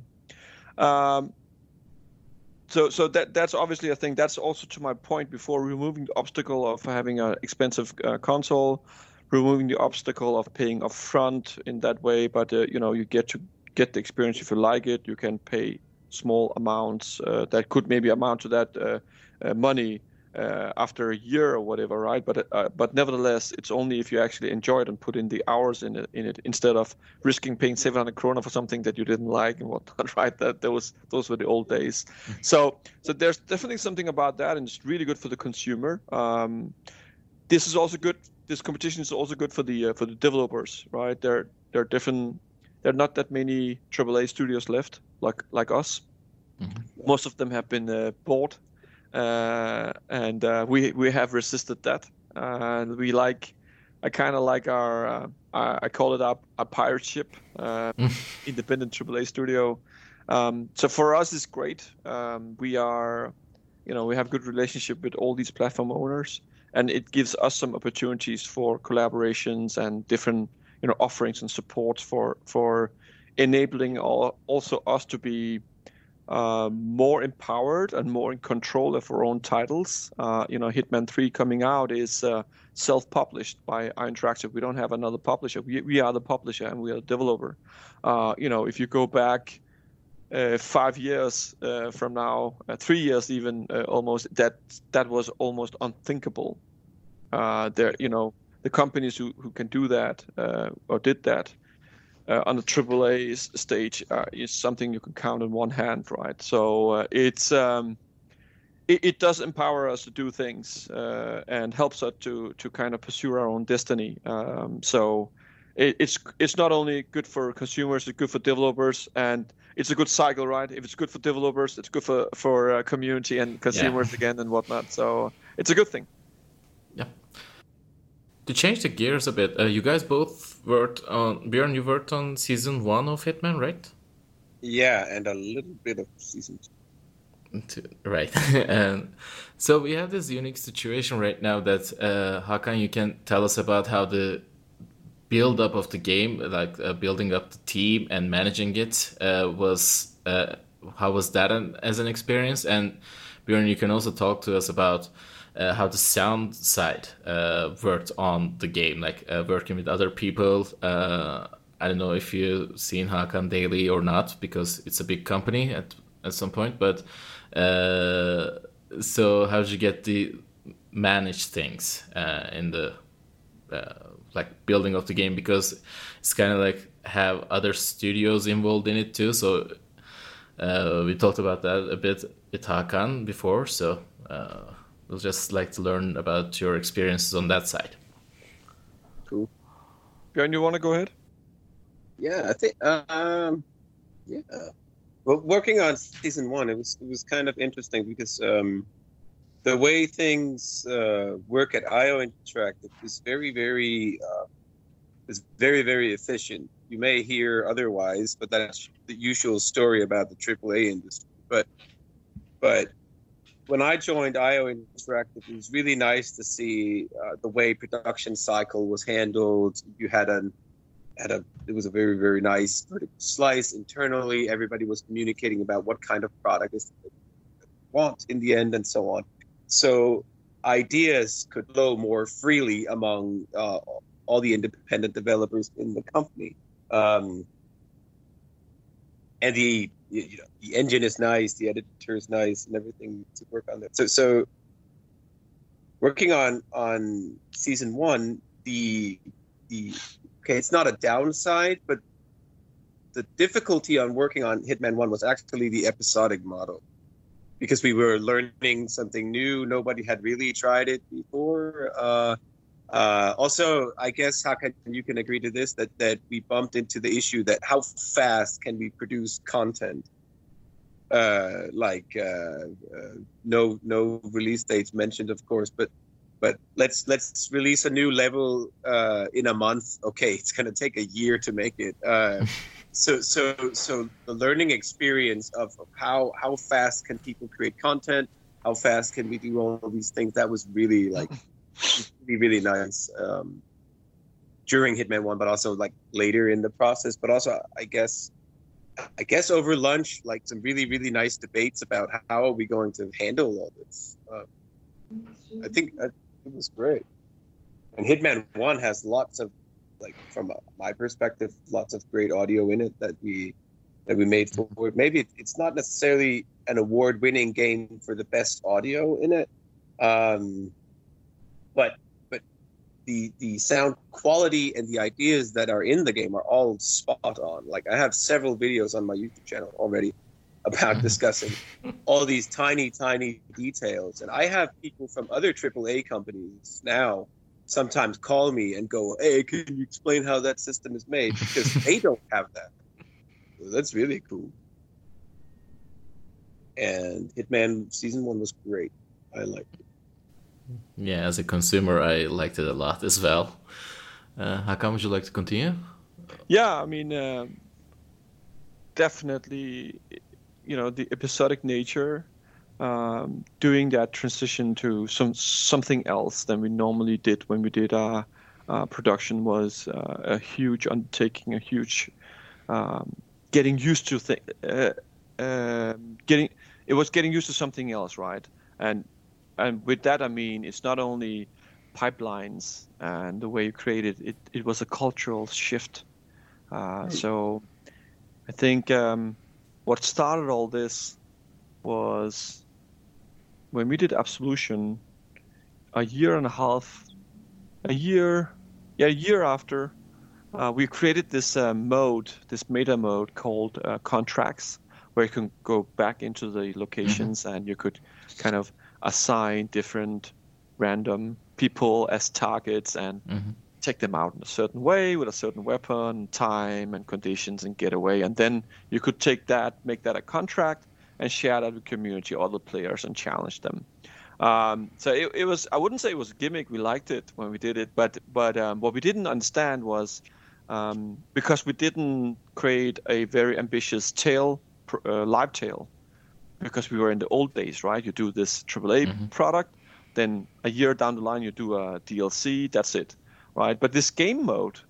So that's obviously a thing. That's also to my point before, removing the obstacle of having an expensive console, removing the obstacle of paying upfront in that way. But you get the experience if you like it. You can pay small amounts that could maybe amount to that money after a year or whatever, right? But nevertheless, it's only if you actually enjoy it and put in the hours in it instead of risking paying 700 krona for something that you didn't like and whatnot, right? Those were the old days. So there's definitely something about that, and it's really good for the consumer. This is also good. This competition is also good for the developers, right? There are not that many AAA studios left like us. Mm-hmm. Most of them have been bought. And we have resisted that. And I kind of like our, I call it a pirate ship, independent AAA studio. So for us, it's great. We have good relationship with all these platform owners, and it gives us some opportunities for collaborations and different, offerings and support for enabling also us to be more empowered and more in control of our own titles. Hitman 3 coming out is self-published by iInteractive. We don't have another publisher. We are the publisher and we are the developer. If you go back 5 years from now, 3 years even, almost, that was almost unthinkable. The companies who can do that or did that on the AAA stage is something you can count on one hand, right? So it does empower us to do things and helps us to kind of pursue our own destiny. So it's not only good for consumers, it's good for developers, and it's a good cycle, right? If it's good for developers, it's good for community and consumers again and whatnot. So it's a good thing. Yeah. To change the gears a bit, you guys both worked on, Björn, you worked on season 1 of Hitman, right? Yeah, and a little bit of season 2. Right. And so we have this unique situation right now that, Hakan, you can tell us about how the build up of the game, like building up the team and managing it, was how was that as an experience? And Björn, you can also talk to us about how the sound side worked on the game, like working with other people. I don't know if you've seen Hakan Daily or not, because it's a big company at some point. But so how did you get the manage things in the like building of the game? Because it's kind of like have other studios involved in it too. So we talked about that a bit with Hakan before. So we'll just like to learn about your experiences on that side. Cool. Björn, you want to go ahead? Yeah, I think. Yeah. Well, working on season 1, it was kind of interesting because the way things work at IO Interactive is very, very efficient. You may hear otherwise, but that's the usual story about the AAA industry. But when I joined IO Interactive, it was really nice to see the way production cycle was handled. You had it was a very, very nice vertical slice internally. Everybody was communicating about what kind of product is they want in the end and so on. So ideas could flow more freely among all the independent developers in the company. And the engine is nice, the editor is nice, and everything to work on that. So working on season 1, okay, it's not a downside, but the difficulty on working on Hitman 1 was actually the episodic model, because we were learning something new. Nobody had really tried it before. Also, I guess, Hakan, you can agree to this, that we bumped into the issue that how fast can we produce content? No release dates mentioned, of course, but let's release a new level in a month. Okay, it's going to take a year to make it. So the learning experience of how fast can people create content, how fast can we do all these things, that was really really nice during Hitman 1, but also like later in the process. But also, I guess over lunch, like some really, really nice debates about how are we going to handle all this. I think it was great. And Hitman 1 has lots of, like, from my perspective, lots of great audio in it that we made forward. Maybe it's not necessarily an award-winning game for the best audio in it, but the sound quality and the ideas that are in the game are all spot on. Like, I have several videos on my YouTube channel already about discussing all these tiny details. And I have people from other AAA companies now sometimes call me and go, "Hey, can you explain how that system is made?" Because they don't have that. So that's really cool. And Hitman Season 1 was great. I liked it. Yeah, as a consumer, I liked it a lot as well. Hakan, would you like to continue? Yeah, I mean, definitely, the episodic nature, doing that transition to something else than we normally did when we did our production was a huge undertaking, a huge getting used to getting used to something else, right? And with that, I mean, it's not only pipelines and the way you create it, it was a cultural shift. So I think what started all this was when we did Absolution a year after, we created this this meta mode called Contracts, where you can go back into the locations and you could kind of assign different random people as targets and take them out in a certain way with a certain weapon, time and conditions, and get away. And then you could take that, make that a contract, and share that with community, other players, and challenge them. So it was, I wouldn't say it was a gimmick. We liked it when we did it, but what we didn't understand was because we didn't create a very ambitious live tail, because we were in the old days, right? You do this AAA product, then a year down the line you do a DLC, that's it, right? But this game mode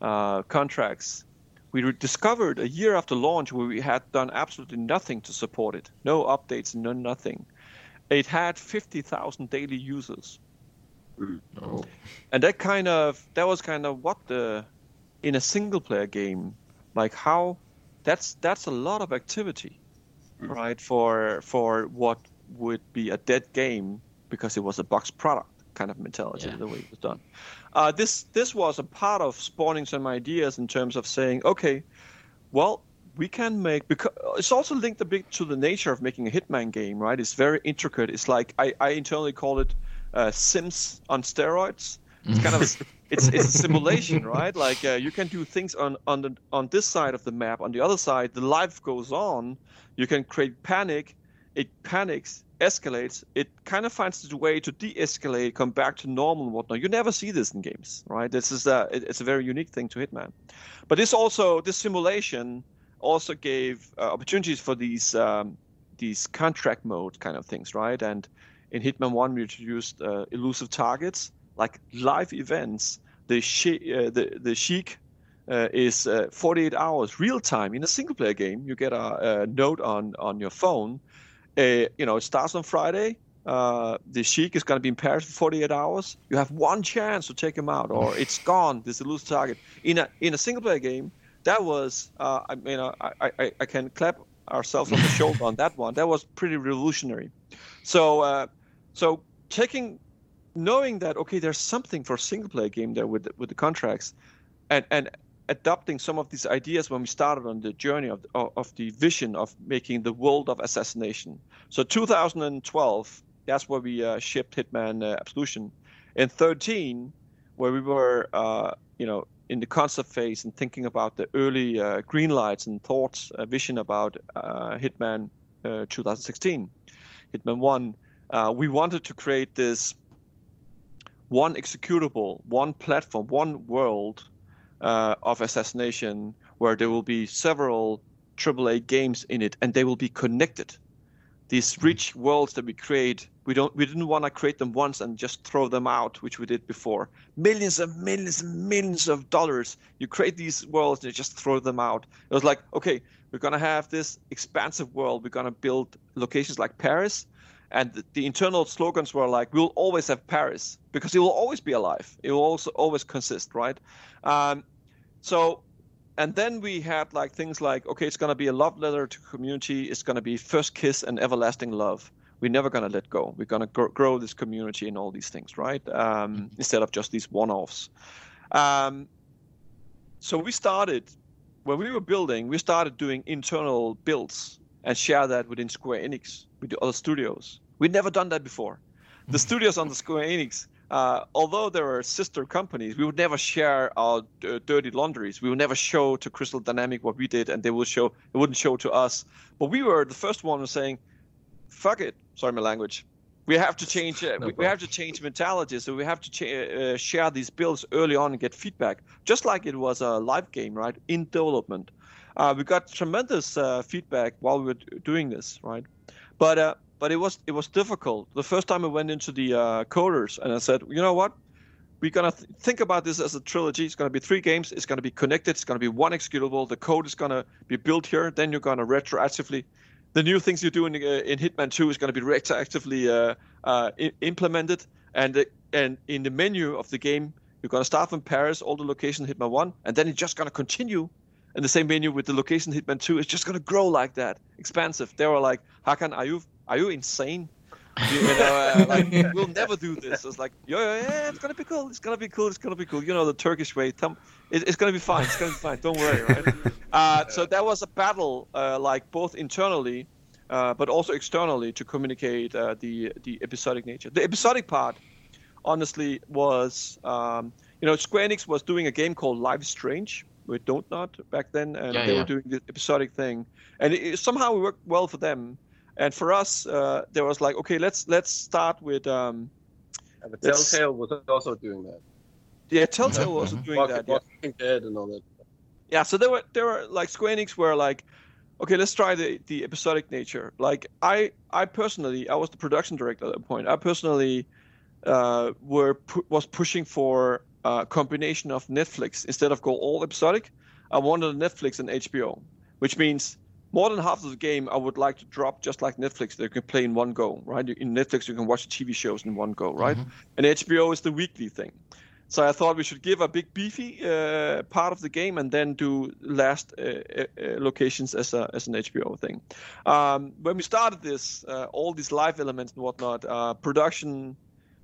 contracts, we discovered a year after launch where we had done absolutely nothing to support it. No updates, no nothing. It had 50,000 daily users. Oh. And that was kind of what in a single player game, like how that's a lot of activity, right? For what would be a dead game because it was a box product kind of mentality, the way it was done. This was a part of spawning some ideas in terms of saying, okay, well, we can make, because it's also linked a bit to the nature of making a Hitman game, right? It's very intricate. It's like I internally call it Sims on steroids. It's kind of it's a simulation, right? Like you can do things on this side of the map. On the other side, the life goes on. You can create panic. It panics, escalates. It kind of finds its way to de-escalate, come back to normal and whatnot. You never see this in games, right? This is it's a very unique thing to Hitman. But this simulation also gave opportunities for these contract mode kind of things, right? And in Hitman 1, we introduced elusive targets, like live events. The Sheik is 48 hours real time in a single player game. You get a note on your phone. It starts on Friday. The Sheik is going to be in Paris for 48 hours. You have one chance to take him out, or it's gone. This elusive target in a single player game. That was, I can clap ourselves on the shoulder on that one. That was pretty revolutionary. So knowing that, okay, there's something for a single player game there with the contracts, and adopting some of these ideas when we started on the journey of the vision of making the world of assassination. So 2012, that's where we shipped Hitman Absolution. In 2013, where we were, in the concept phase and thinking about the early green lights and thoughts, vision about Hitman 2016, Hitman 1, we wanted to create this one executable, one platform, one world of assassination where there will be several AAA games in it, and they will be connected. These rich worlds that we create, we didn't want to create them once and just throw them out, which we did before. Millions and millions and millions of dollars. You create these worlds and you just throw them out. It was like, okay, we're going to have this expansive world. We're going to build locations like Paris. And the internal slogans were like, we'll always have Paris because it will always be alive. It will also always consist, right? And then we had like things like, okay, it's going to be a love letter to community. It's going to be first kiss and everlasting love. We're never going to let go. We're going to grow this community and all these things, right? Instead of just these one-offs. So we started, when we were building, we started doing internal builds and share that within Square Enix, with the other studios. We'd never done that before. The studios on the Square Enix, although there are sister companies, we would never share our dirty laundries. We would never show to Crystal Dynamics what we did, and they wouldn't show to us. But we were the first one saying, "Fuck it." Sorry, my language. We have to change. We have to change mentality. So we have to share these builds early on and get feedback, just like it was a live game, right? In development, we got tremendous feedback while we were doing this, right? But it was difficult. The first time I went into the coders and I said, you know what? We're going to think about this as a trilogy. It's going to be 3 games. It's going to be connected. It's going to be one executable. The code is going to be built here. Then you're going to retroactively. The new things you do in Hitman 2 is going to be retroactively implemented. And in the menu of the game, you're going to start from Paris, all the locations in Hitman 1. And then it's just going to continue in the same menu with the location Hitman 2. It's just going to grow like that. Expansive. They were like, Hakan, are you insane? We'll never do this. It's like, yeah, it's gonna be cool. It's gonna be cool. It's gonna be cool. You know, the Turkish way. It's gonna be fine. It's gonna be fine. Don't worry, right? So that was a battle, like both internally, but also externally, to communicate the episodic nature. The episodic part, honestly, was Square Enix was doing a game called Life is Strange with Dontnod back then, and they were doing the episodic thing, and somehow it worked well for them. And for us, there was like, okay, let's start with. But Telltale was also doing that. Yeah, Telltale was also doing that. Walking Dead and all that. Yeah, so there were like Square Enix were like, okay, let's try the episodic nature. Like I personally, was the production director at that point. I personally was pushing for combination of Netflix. Instead of go all episodic, I wanted Netflix and HBO, which means more than half of the game I would like to drop just like Netflix that you can play in one go, right? In Netflix you can watch the TV shows in one go, right? And HBO is the weekly thing. So I thought we should give a big beefy part of the game and then do last locations as an HBO thing. When we started this, all these live elements and whatnot, production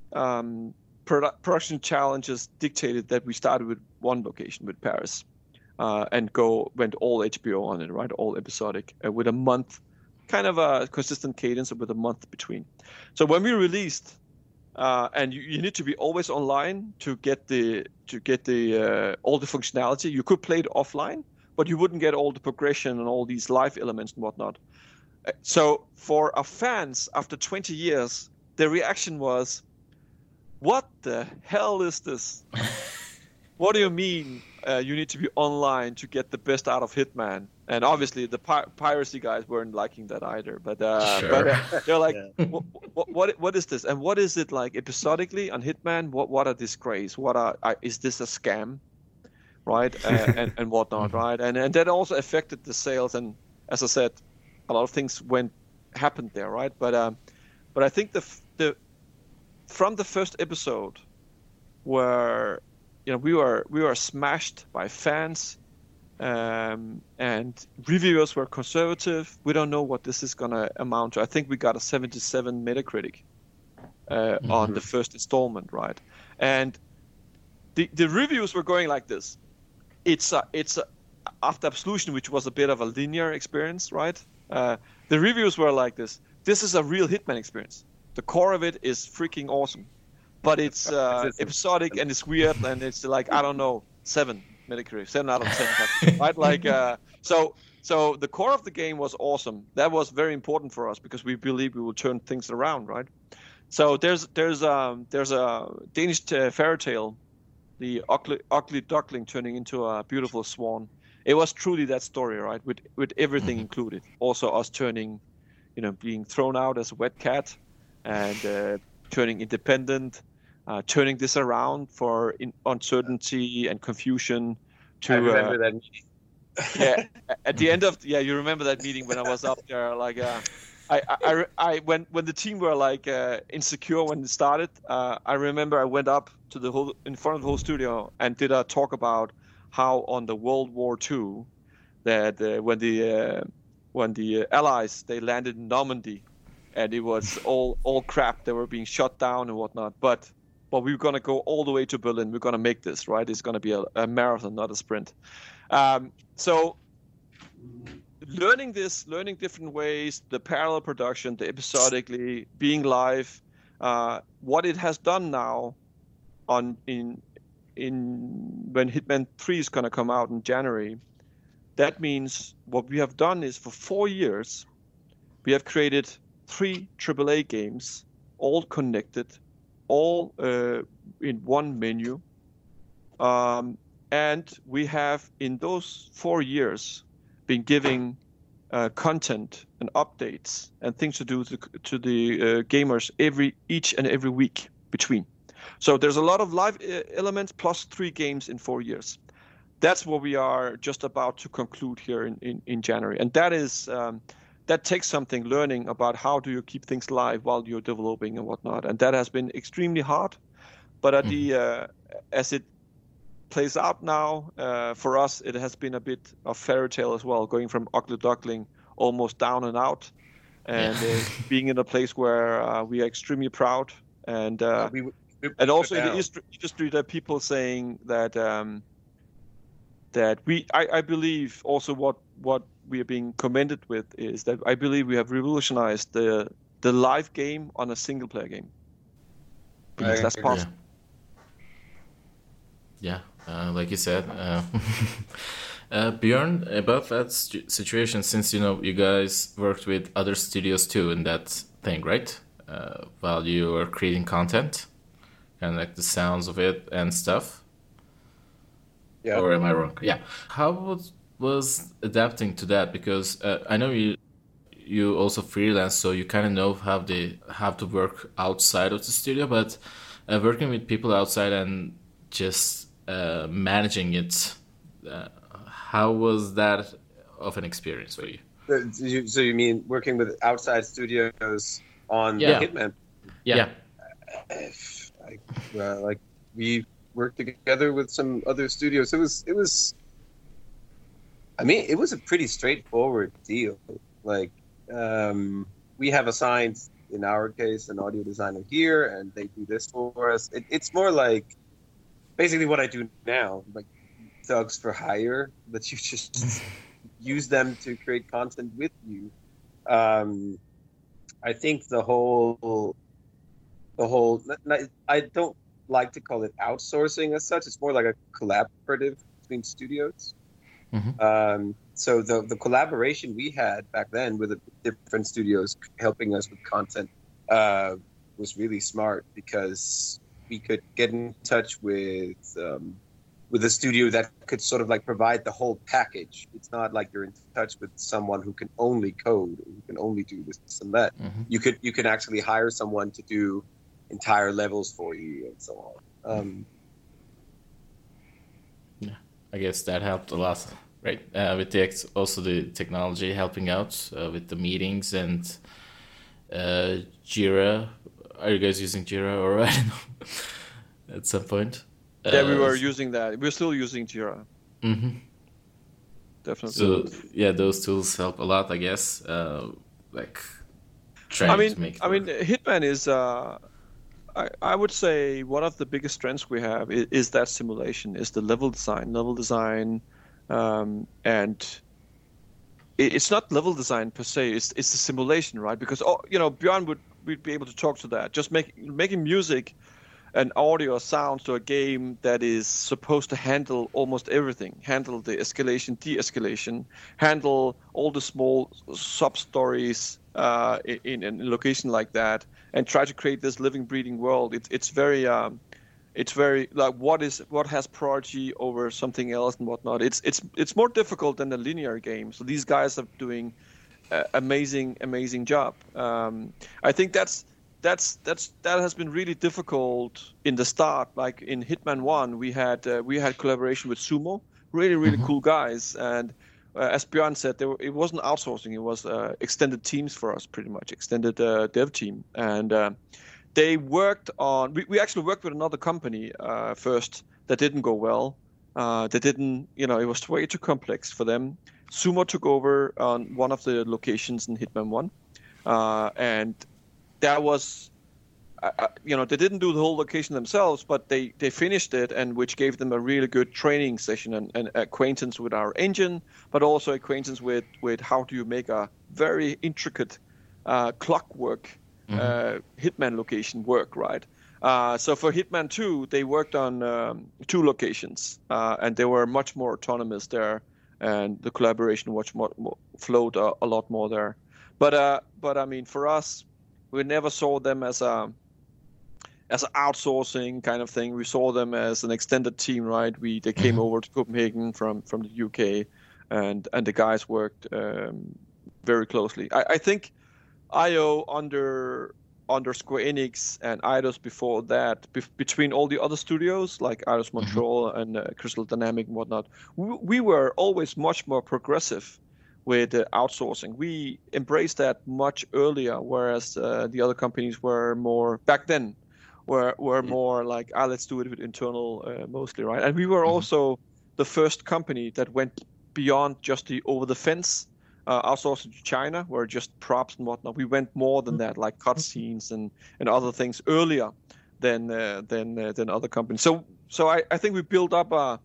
challenges dictated that we started with one location, with Paris, and went all HBO on it, right? All episodic, with a month, kind of a consistent cadence with a month between. So when we released, and you need to be always online to get the all the functionality. You could play it offline, but you wouldn't get all the progression and all these live elements and whatnot. So for our fans, after 20 years, the reaction was, "What the hell is this? What do you mean you need to be online to get the best out of Hitman?" And obviously the piracy guys weren't liking that either. But they're like, what is this? And what is it like episodically on Hitman? What a disgrace! Is this a scam? Right? And whatnot, right? And that also affected the sales. And as I said, a lot of things happened there, right? But I think from the first episode, where we were smashed by fans, and reviewers were conservative. We don't know what this is gonna amount to. I think we got a 77 Metacritic on the first installment, right? And the reviews were going like this. It's after Absolution, which was a bit of a linear experience, right? The reviews were like this. This is a real Hitman experience. The core of it is freaking awesome, but it's episodic and it's weird and it's like, I don't know, 7 Metacritic, 7 out of 10, right? Like so the core of the game was awesome. That was very important for us because we believe we will turn things around, right? So there's a Danish fairy tale, the ugly duckling turning into a beautiful swan. It was truly that story, right? With everything included. Also us turning, being thrown out as a wet cat, and turning independent, turning this around for uncertainty and confusion. I remember that meeting. Yeah, at the end of you remember that meeting when I was up there, like when the team were like insecure when it started. I remember I went up to in front of the whole studio and did a talk about how on the World War II that when the Allies they landed in Normandy, and it was all crap. They were being shot down and whatnot. But we're gonna go all the way to Berlin. We're gonna make this, right? It's gonna be a marathon, not a sprint. So learning different ways, the parallel production, the episodically, being live, what it has done now when Hitman 3 is gonna come out in January. That means what we have done is for 4 years, we have created 3 AAA games, all connected, all in one menu. And we have, in those 4 years, been giving content and updates and things to do to the gamers each and every week between. So there's a lot of live elements plus 3 games in 4 years. That's what we are just about to conclude here in January. And that is that takes something, learning about how do you keep things live while you're developing and whatnot. And that has been extremely hard. But at as it plays out now, for us, it has been a bit of fairy tale as well, going from ugly duckling almost down and out, and being in a place where we are extremely proud. And and also in the industry, there are people saying that I believe also what we are being commended with is that I believe we have revolutionized the live game on a single player game, because that's possible. Yeah, like you said, Björn, about that situation, since you guys worked with other studios too in that thing, right? While you were creating content, and like the sounds of it and stuff. Yeah. Or am I wrong? Yeah. How was adapting to that? Because I know you also freelance, so you kind of know how they have to work outside of the studio. But working with people outside and just managing it. How was that of an experience for you? So you mean working with outside studios on Yeah. Hitman? Yeah. Like we worked together with some other studios. It was. I mean, it was a pretty straightforward deal. Like we have assigned, in our case, an audio designer here, and they do this for us. It's more like basically what I do now, like thugs for hire, that you just use them to create content with you. I think the whole. I don't like to call it outsourcing as such. It's more like a collaborative between studios. So the collaboration we had back then with the different studios helping us with content was really smart, because we could get in touch with a studio that could sort of like provide the whole package. It's not like you're in touch with someone who can only code, who can only do this and that. You can actually hire someone to do entire levels for you and so on. I guess that helped a lot, right? With also the technology helping out with the meetings and Jira. Are you guys using Jira, or I don't know, at some point? Yeah, we were using that. We're still using Jira. Definitely. So yeah, those tools help a lot, I guess. Like trying to make it work. Hitman is. I would say one of the biggest strengths we have is that simulation, is the level design, and it's not level design per se. It's the simulation, right? Because Björn would be able to talk to that. Just making music and audio or sounds to a game that is supposed to handle almost everything, handle the escalation, de-escalation, handle all the small sub-stories in a location like that, and try to create this living, breathing world. It's very like what has priority over something else and whatnot. It's more difficult than a linear game. So these guys are doing amazing job. I think that has been really difficult in the start. Like in Hitman 1, we had collaboration with Sumo, really cool guys, and as Björn said, it wasn't outsourcing; it was extended teams for us, pretty much extended dev team, and they worked on. We actually worked with another company first that didn't go well. It was way too complex for them. Sumo took over on one of the locations in Hitman 1, and that was, they didn't do the whole location themselves, but they finished it, and which gave them a really good training session and acquaintance with our engine, but also acquaintance with how do you make a very intricate clockwork Hitman location work, right? So for Hitman 2, they worked on 2 locations, and they were much more autonomous there, and the collaboration flowed a lot more there. But I mean, for us, we never saw them as an outsourcing kind of thing. We saw them as an extended team, right? They came over to Copenhagen from the UK, and the guys worked very closely. I think IO under Square Enix and Eidos before that, between all the other studios like Eidos Montreal and Crystal Dynamics and whatnot, we were always much more progressive with outsourcing. We embraced that much earlier, whereas the other companies were more back then were more like, let's do it with internal mostly, right? And we were also the first company that went beyond just the over the fence outsourcing to China, where just props and whatnot. We went more than that, like cutscenes and other things earlier than other companies. So I think we built up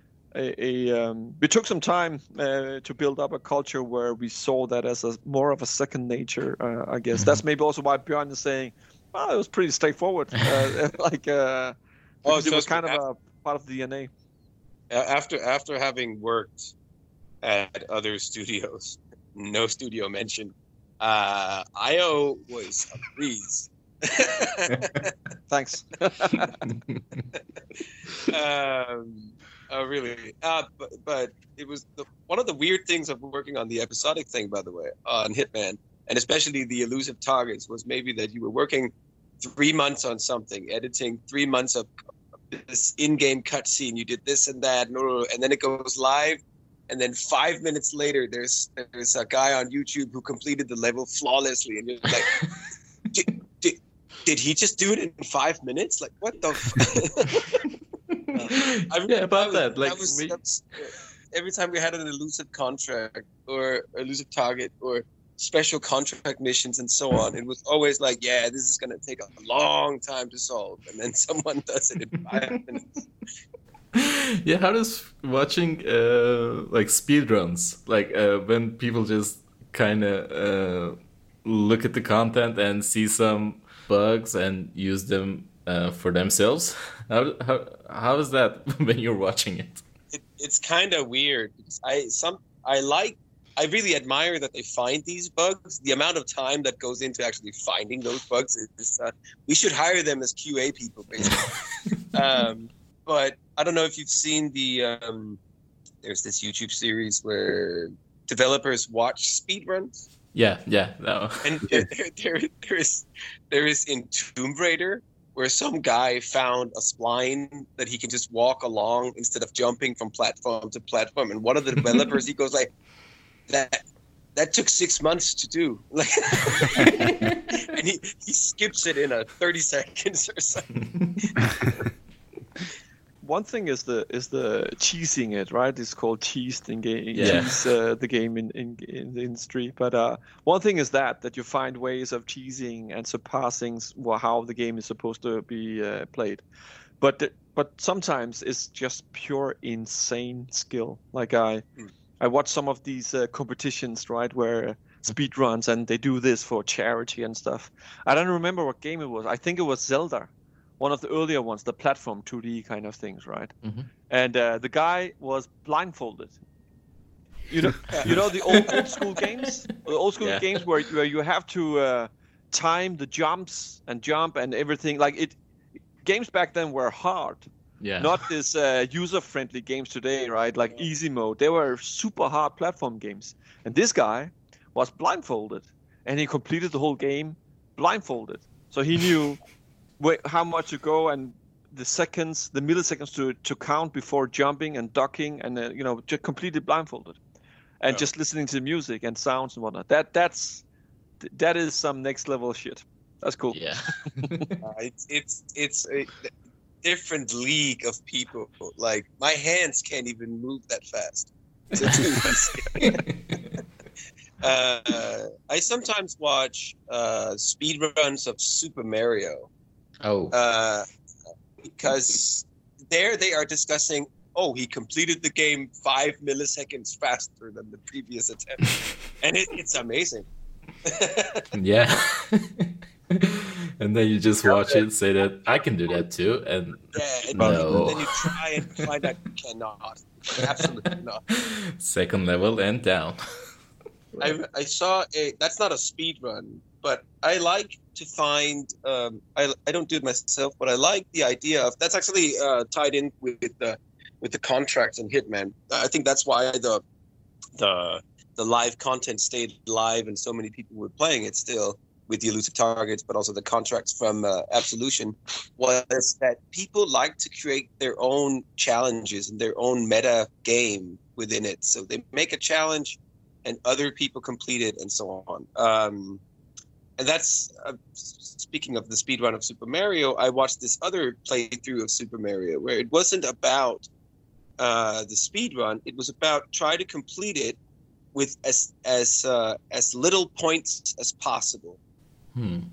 we took some time to build up a culture where we saw that as more of a second nature. I guess that's maybe also why Björn is saying, well, it was pretty straightforward. It was kind of a part of the DNA. After having worked at other studios, no studio mentioned, IO was a breeze. Thanks. Oh, really? But it was one of the weird things of working on the episodic thing, by the way, on Hitman, and especially the elusive targets, was maybe that you were working 3 months on something, editing 3 months of this in-game cutscene. You did this and that, and then it goes live, and then 5 minutes later, there's a guy on YouTube who completed the level flawlessly, and you're like, did he just do it in 5 minutes? Like, what the? Every time we had an elusive contract or elusive target or special contract missions and so on, it was always like, yeah, this is going to take a long time to solve, and then someone does it in 5 minutes. Yeah, how does watching like speedruns, like when people just kind of look at the content and see some bugs and use them for themselves, how is that when you're watching it? It's kind of weird because I really admire that they find these bugs. The amount of time that goes into actually finding those bugs is we should hire them as QA people, basically. But I don't know if you've seen there's this YouTube series where developers watch speedruns. Yeah, that one. And there is in Tomb Raider where some guy found a spline that he can just walk along instead of jumping from platform to platform. And one of the developers, he goes like, that took 6 months to do. Like, and he skips it in 30 seconds or something. One thing is the cheesing it, right? It's called cheesed in game. Yeah. Cheese the game in the industry. But one thing is that you find ways of cheesing and surpassing how the game is supposed to be played. But sometimes it's just pure insane skill. Like I watch some of these competitions, right, where speed runs and they do this for charity and stuff. I don't remember what game it was. I think it was Zelda. One of the earlier ones, the platform 2D kind of things, right? Mm-hmm. And the guy was blindfolded. You know the old school games, games where you have to time the jumps and jump and everything. Like games back then were hard. Yeah. Not this user-friendly games today, right? Like easy mode. They were super hard platform games. And this guy was blindfolded, and he completed the whole game blindfolded. So he knew how much to go and the milliseconds to count before jumping and ducking, and just completely blindfolded, and just listening to music and sounds and whatnot. That is some next level shit. That's cool. Yeah. It's a different league of people. Like my hands can't even move that fast to do this. I sometimes watch speedruns of Super Mario. Oh. Because there they are discussing, he completed the game 5 milliseconds faster than the previous attempt. And it's amazing. Yeah. And then you just watch it, say that I can do that too, and and no. then you try and find out you cannot. Absolutely not. Second level and down. I saw that's not a speed run, but I like to find I don't do it myself, but I like the idea of that's actually tied in with the contracts in Hitman. I think that's why the live content stayed live and so many people were playing it still with the elusive targets, but also the contracts from Absolution, was that people like to create their own challenges and their own meta game within it. So they make a challenge and other people complete it and so on. And that's, speaking of the speedrun of Super Mario, I watched this other playthrough of Super Mario where it wasn't about the speedrun. It was about try to complete it with as little points as possible. And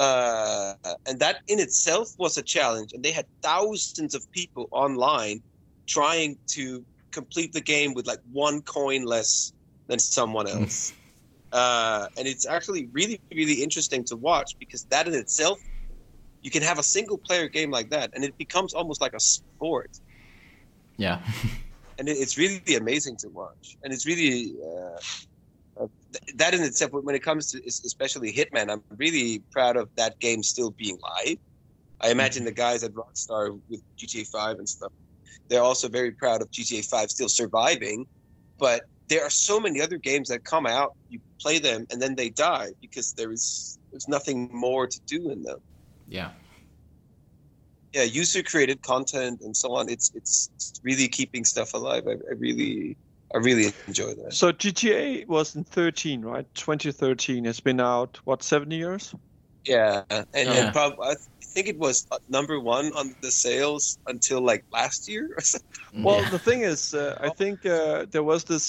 that in itself was a challenge. And they had thousands of people online trying to complete the game with like 1 coin less than someone else. And it's actually really, really interesting to watch because that in itself, you can have a single player game like that and it becomes almost like a sport. Yeah. And it's really amazing to watch. And it's really, that in itself, when it comes to especially Hitman, I'm really proud of that game still being live. I imagine the guys at Rockstar with GTA 5 and stuff, they're also very proud of GTA 5 still surviving. But there are so many other games that come out, you play them, and then they die because there's nothing more to do in them. Yeah. user created content and so on. It's really keeping stuff alive. I really enjoy that. So GTA was in 13, right? 2013. It's been out, what, 7 years? Yeah, and probably I think it was number one on the sales until like last year or something. Well, the thing is, I think there was this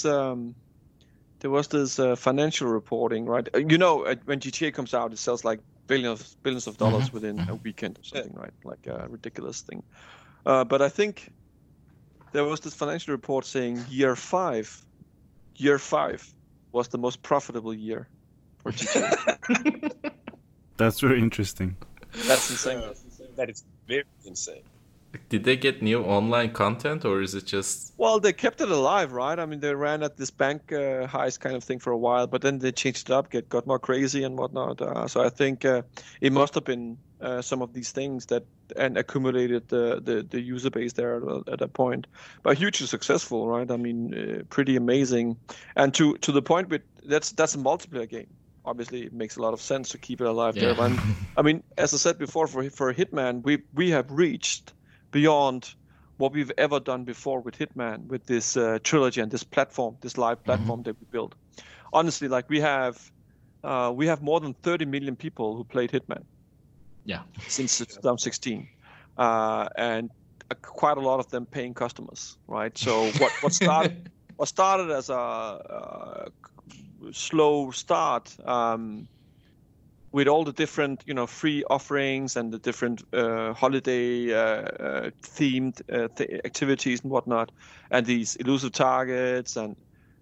financial reporting, right? When GTA comes out, it sells like billions of dollars within a weekend or something, right? Like a ridiculous thing. But I think there was this financial report saying year five was the most profitable year for GTA. That's very interesting. That's insane. That is very insane. Did they get new online content, or is it just... Well, they kept it alive, right? I mean, they ran at this bank heist kind of thing for a while, but then they changed it up, got more crazy and whatnot. So I think it must have been some of these things that and accumulated the user base there at that point. But hugely successful, right? I mean, pretty amazing. And to the point with that's a multiplayer game. Obviously, it makes a lot of sense to keep it alive there. But I mean, as I said before, for Hitman, we have reached beyond what we've ever done before with Hitman, with this trilogy and this platform, this live platform that we built. Honestly, like we have more than 30 million people who played Hitman. Yeah. Since 2016, and quite a lot of them paying customers, right? So what started as a slow start with all the different free offerings and the different holiday themed activities and whatnot, and these elusive targets and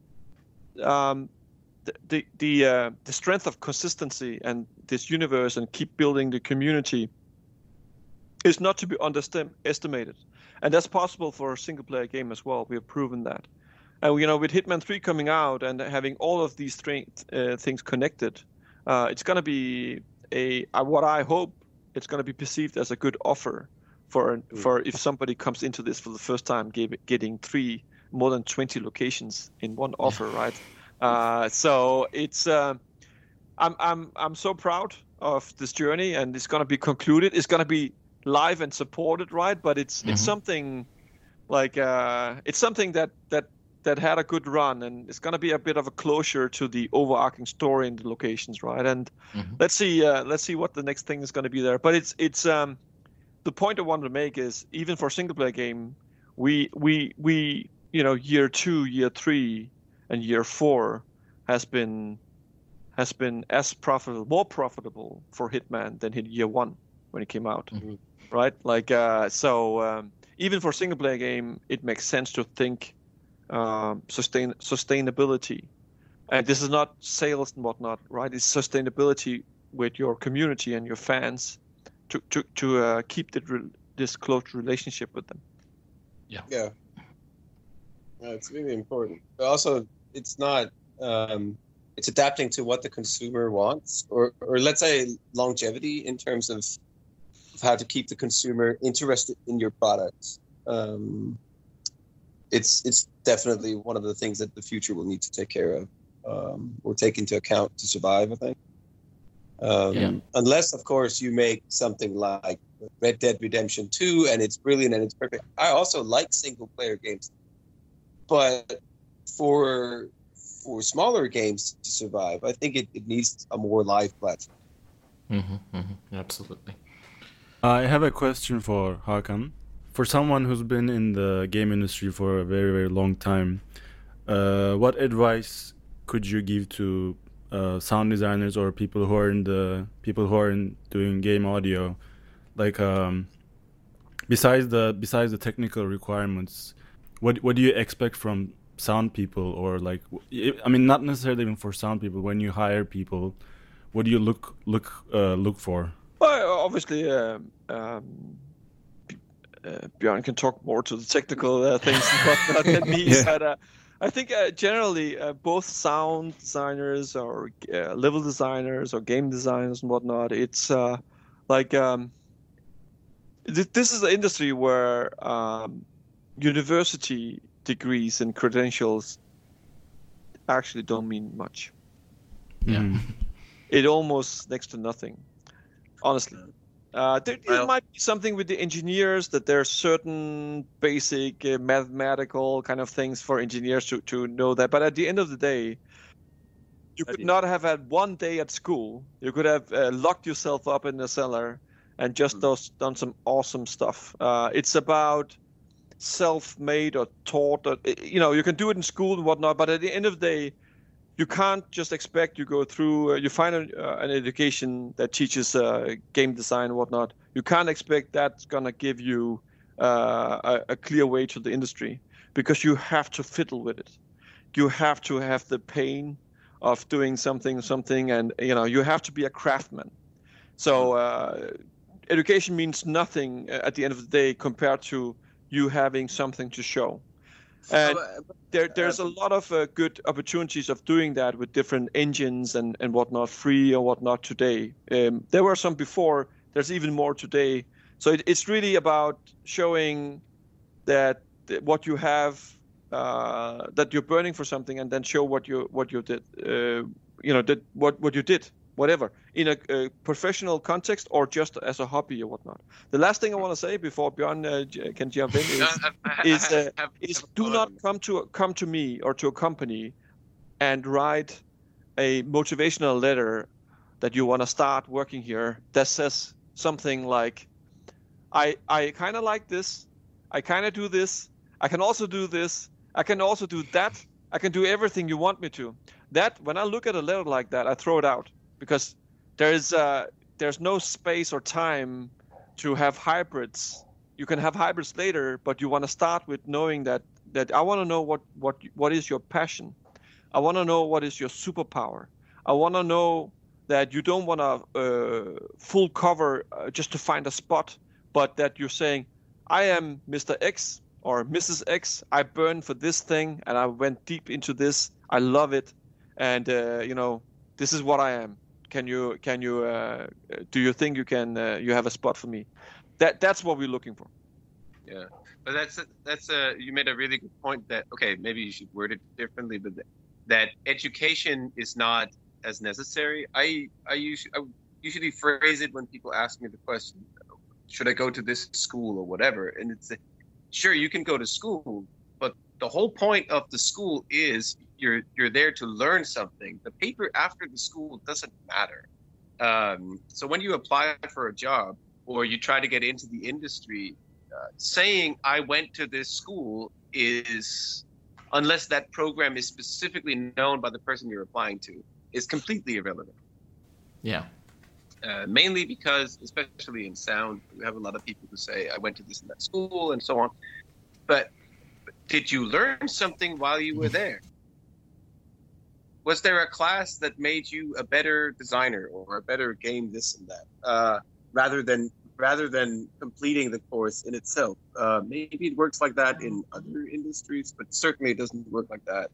the strength of consistency and this universe and keep building the community is not to be underestimated, and that's possible for a single player game as well. We have proven that. And with Hitman 3 coming out and having all of these things connected, it's going to be what I hope it's going to be perceived as a good offer for if somebody comes into this for the first time, getting more than 20 locations in one offer, right? So it's I'm so proud of this journey, and it's going to be concluded. It's going to be live and supported, right? But it's something like it's something that had a good run, and it's going to be a bit of a closure to the overarching story and the locations, right? And let's see what the next thing is going to be there. But it's the point I wanted to make is, even for a single player game, we year 2, year 3, and year 4 has been as profitable, more profitable for Hitman than in year 1 when it came out, right? Like even for a single player game, it makes sense to think sustainability, and this is not sales and whatnot, right? It's sustainability with your community and your fans to keep this close relationship with them. Yeah, it's really important. But also, it's not. It's adapting to what the consumer wants, or let's say longevity in terms of how to keep the consumer interested in your products. It's definitely one of the things that the future will need to take care of or take into account to survive, I think. Unless, of course, you make something like Red Dead Redemption 2 and it's brilliant and it's perfect. I also like single-player games. But for smaller games to survive, I think it needs a more live platform. Absolutely. I have a question for Hakan. For someone who's been in the game industry for a very, very long time, what advice could you give to sound designers or people who are doing game audio? Like, besides the technical requirements, what do you expect from sound people, or like, I mean, not necessarily even for sound people. When you hire people, what do you look for? Well, obviously, Björn can talk more to the technical things and whatnot than me. But I think generally both sound designers or level designers or game designers and whatnot, it's this is an industry where university degrees and credentials actually don't mean much. Yeah. It almost next to nothing, honestly. There might be something with the engineers that there's certain basic mathematical kind of things for engineers to know that. But at the end of the day, you could not have had one day at school. You could have locked yourself up in the cellar and just done some awesome stuff. It's about self-made or taught. You can do it in school and whatnot, but at the end of the day, you can't just expect you go through, you find an education that teaches game design and whatnot. You can't expect that's going to give you a clear way to the industry, because you have to fiddle with it. You have to have the pain of doing something, and you have to be a craftsman. So education means nothing at the end of the day compared to you having something to show. And there's a lot of good opportunities of doing that with different engines and whatnot, free or whatnot today. There were some before. There's even more today. So it's really about showing that what you have, that you're burning for something, and then show what you did. What you did, whatever, in a professional context or just as a hobby or whatnot. The last thing I want to say before Bjørn can jump in is do not come to me or to a company and write a motivational letter that you want to start working here that says something like, I kind of like this, I kind of do this, I can also do this, I can also do that, I can do everything you want me to. That, when I look at a letter like that, I throw it out, because there's no space or time to have hybrids. You can have hybrids later, but you want to start with knowing that I want to know what is your passion. I want to know what is your superpower. I want to know that you don't want to full cover just to find a spot, but that you're saying, I am Mr. X or Mrs. X. I burn for this thing, and I went deep into this. I love it, and this is what I am. Can you do you think you can you have a spot for me? That's what we're looking for. Yeah, but that's you made a really good point that, okay, maybe you should word it differently, but that education is not as necessary. I usually phrase it when people ask me the question, should I go to this school or whatever, and it's sure, you can go to school, but the whole point of the school is you're there to learn something. The paper after the school doesn't matter. So when you apply for a job or you try to get into the industry, saying I went to this school is, unless that program is specifically known by the person you're applying to, is completely irrelevant. Yeah. Mainly because, especially in sound, we have a lot of people who say, I went to this and that school and so on. But did you learn something while you were there? Was there a class that made you a better designer or a better game this and that, rather than completing the course in itself? Maybe it works like that in other industries, but certainly it doesn't work like that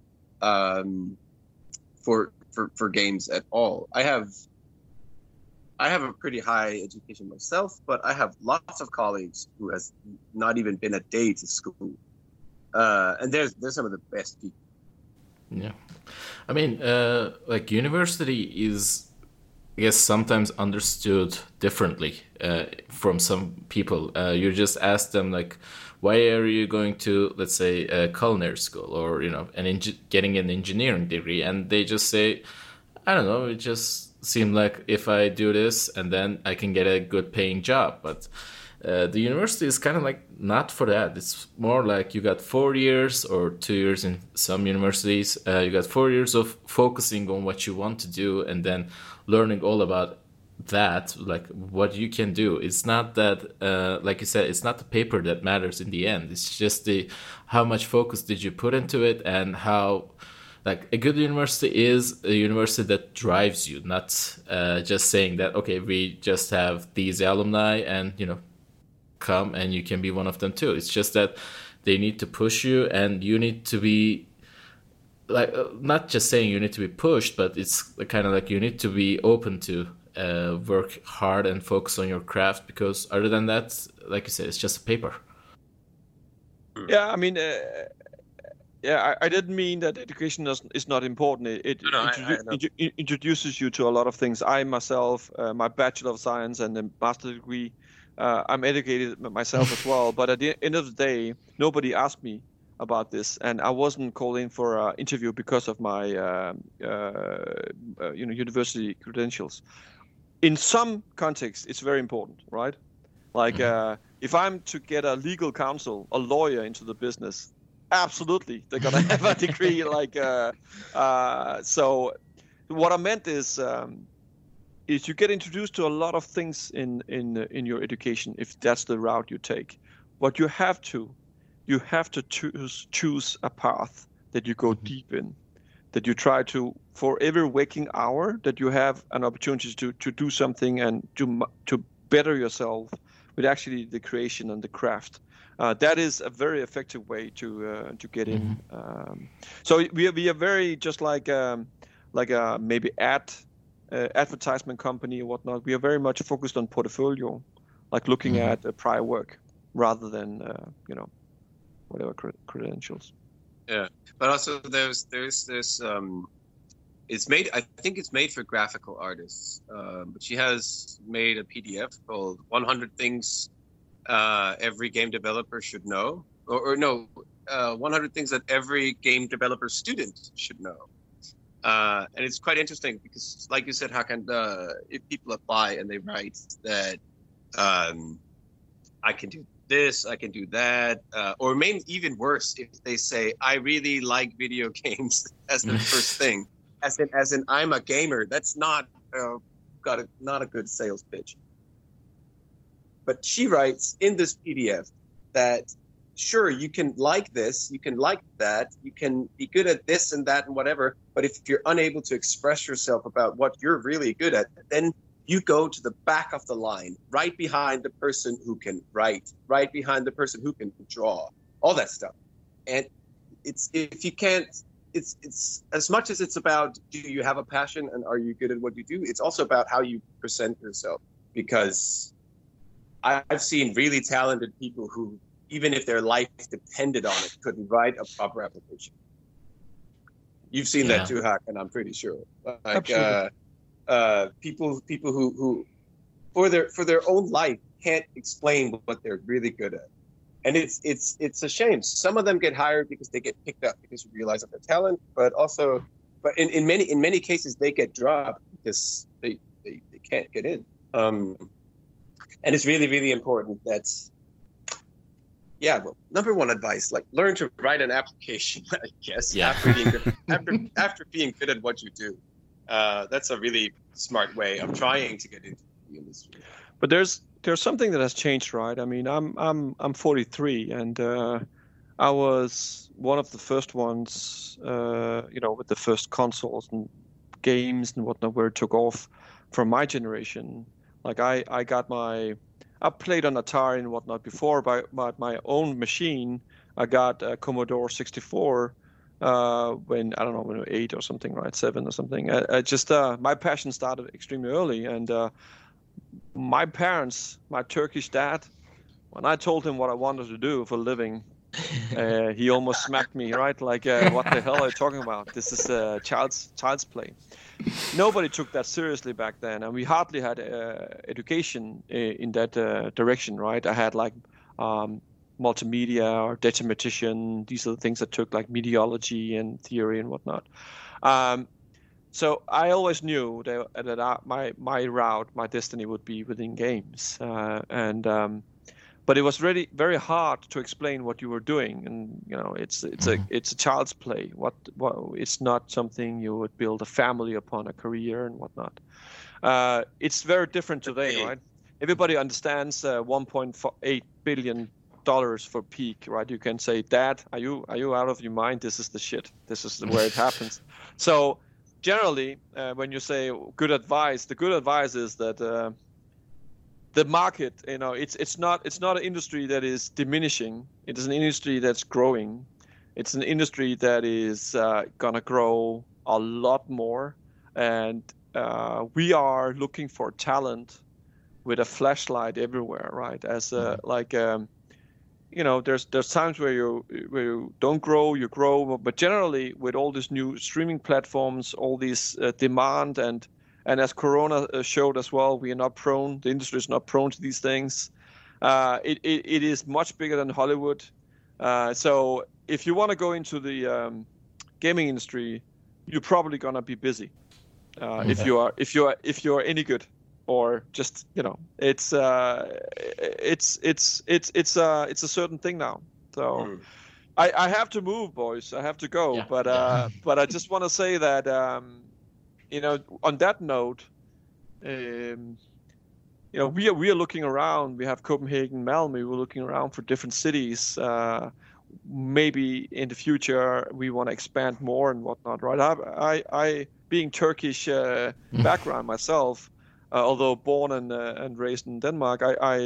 for games at all. I have a pretty high education myself, but I have lots of colleagues who has not even been a day to school, and they're some of the best people. Yeah, I mean, like university is, I guess, sometimes understood differently from some people. You just ask them, like, why are you going to, let's say, a culinary school or getting an engineering degree, and they just say, I don't know, it just seemed like if I do this and then I can get a good paying job. But the university is kind of like not for that. It's more like you got 4 years or 2 years in some universities. You got 4 years of focusing on what you want to do and then learning all about that, like what you can do. It's not that, like you said, it's not the paper that matters in the end. It's just how much focus did you put into it, and how, like, a good university is a university that drives you, not just saying that, okay, we just have these alumni and, come and you can be one of them too. It's just that they need to push you, and you need to be, like, not just saying you need to be pushed, but it's kind of like you need to be open to work hard and focus on your craft, because other than that, like you said, it's just a paper. Yeah, I mean, Yeah, I didn't mean that education is not important. It No, I know. introduces you to a lot of things. I myself, my Bachelor of Science and the master degree, I'm educated myself as well. But at the end of the day, nobody asked me about this, and I wasn't called in for an interview because of my university credentials. In some contexts, it's very important, right? Like if I'm to get a legal counsel, a lawyer into the business, absolutely, they're gonna have a degree. So what I meant is you get introduced to a lot of things in your education if that's the route you take. What you have to choose a path that you go deep in, that you try to, for every waking hour, that you have an opportunity to do something and to better yourself with actually the creation and the craft. That is a very effective way to get in. So we are very just like a maybe advertisement company or whatnot. We are very much focused on portfolio, like looking at prior work rather than whatever credentials. Yeah, but also there's this. It's made. I think it's made for graphical artists. But she has made a PDF called 100 Things Every Game Developer Should Know, or no, 100 Things That Every Game Developer Student Should Know. And it's quite interesting because, like you said, Hakan, if people apply and they write that I can do this, I can do that, or maybe even worse, if they say I really like video games as the first thing, as in I'm a gamer. That's not not a good sales pitch. But she writes in this PDF that sure, you can like this, you can like that, you can be good at this and that and whatever, but if you're unable to express yourself about what you're really good at, then you go to the back of the line, right behind the person who can write, right behind the person who can draw, all that stuff. And it's as much as it's about do you have a passion and are you good at what you do, it's also about how you present yourself. Because I've seen really talented people who, even if their life depended on it, couldn't write a proper application. You've seen that too, Hack, and I'm pretty sure. Like people who for their own life can't explain what they're really good at, and it's a shame. Some of them get hired because they get picked up because you realize of their talent, but in many cases they get dropped because they can't get in. And it's really, really important that. Yeah, well, number one advice, like learn to write an application, I guess, after being good at what you do. That's a really smart way of trying to get into the industry. But there's something that has changed, right? I mean, I'm 43, and I was one of the first ones, with the first consoles and games and whatnot, where it took off from my generation. Like I played on Atari and whatnot before, but my own machine, I got a Commodore 64 when I was 8 or something, right? 7 or something. I just my passion started extremely early, and my parents, my Turkish dad, when I told him what I wanted to do for a living, he almost smacked me, right? Like, what the hell are you talking about? This is child's play. Nobody took that seriously back then, and we hardly had education in that direction, right? I had like multimedia or datamatician. These are the things that took like mediology and theory and whatnot. So I always knew that my route, my destiny would be within games, but it was really very hard to explain what you were doing, and it's a child's play. What it's not something you would build a family upon, a career and whatnot. It's very different today, right? Everybody understands $1.8 billion for peak, right? You can say, Dad, are you out of your mind? This is the shit. This is where it happens. So generally, when you say good advice, the good advice is that. The market, it's not an industry that is diminishing. It is an industry that's growing. It's an industry that is gonna grow a lot more, and we are looking for talent with a flashlight everywhere, right? As there's times where you don't grow, you grow, but generally with all these new streaming platforms, all these demand and as Corona showed as well, we are not prone. The industry is not prone to these things. It is much bigger than Hollywood. So if you want to go into the gaming industry, you're probably gonna be busy if you're any good, or just it's a certain thing now. So I have to move, boys. I have to go. But I just want to say that on that note, we are looking around. We have Copenhagen, Malmö. We're looking around for different cities. Maybe in the future we want to expand more and whatnot, right? I being Turkish background myself, although born and raised in Denmark,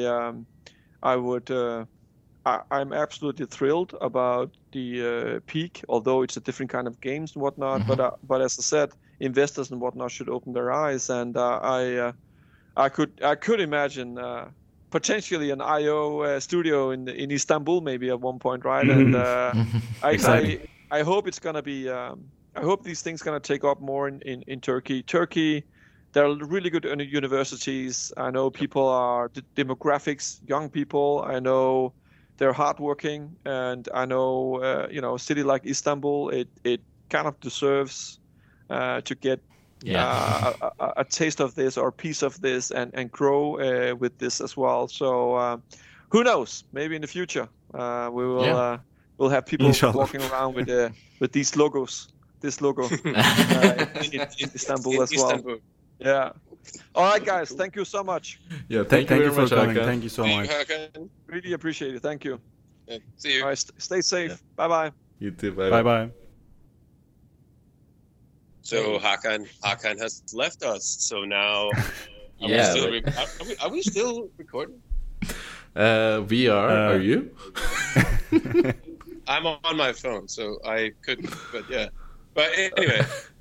I'm absolutely thrilled about the Peak, although it's a different kind of games and whatnot. But as I said, investors and whatnot should open their eyes, and I could imagine potentially an IO studio in Istanbul maybe at one point, right? And I hope it's gonna be. I hope these things gonna take up more in Turkey. Turkey, there are really good universities. I know people are demographics, young people. I know they're hardworking, and I know a city like Istanbul, it kind of deserves to get a taste of this or a piece of this and grow with this as well. So who knows? Maybe in the future we will we'll have people walking around with these logos. This logo in Istanbul as well. Yeah. All right, guys. Thank you so much. Yeah. Thank you for coming. Thank you so much. Really appreciate it. Thank you. Yeah, see you. All right. Stay safe. Yeah. Bye bye. You too. Bye bye. So Hakan has left us. So now, are we still recording? We are. Are you? I'm on my phone, so I couldn't. But yeah. But anyway,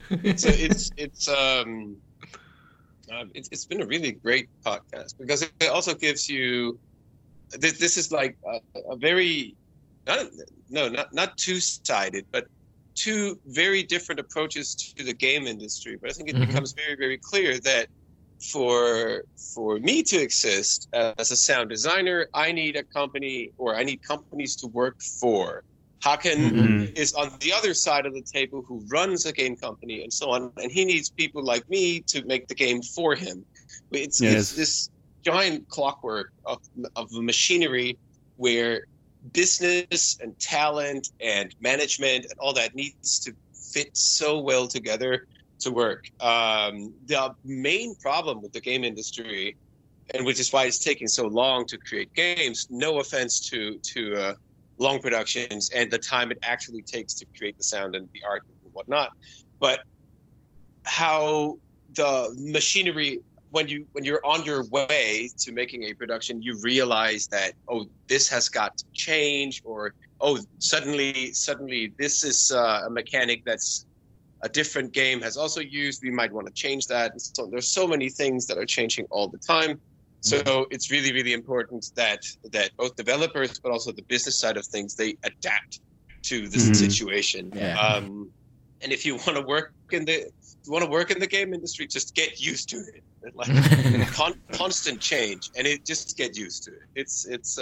it's been a really great podcast because it also gives you. This is like a very not two-sided, but two very different approaches to the game industry. But I think it becomes very, very clear that for me to exist as a sound designer, I need a company, or I need companies to work for. Hakan is on the other side of the table, who runs a game company and so on, and he needs people like me to make the game for him. It's this giant clockwork of the machinery where business and talent and management and all that needs to fit so well together to work. The main problem with the game industry, and which is why it's taking so long to create games, no offense to long productions and the time it actually takes to create the sound and the art and whatnot, but how the machinery, when you're on your way to making a production, you realize that, this has got to change, or suddenly this is a mechanic that's a different game has also used. We might want to change that. And so there's so many things that are changing all the time. So it's really, really important that both developers, but also the business side of things, they adapt to this situation. Yeah. And if you want to work in the game industry, just get used to it. Like constant change, and just get used to it. It's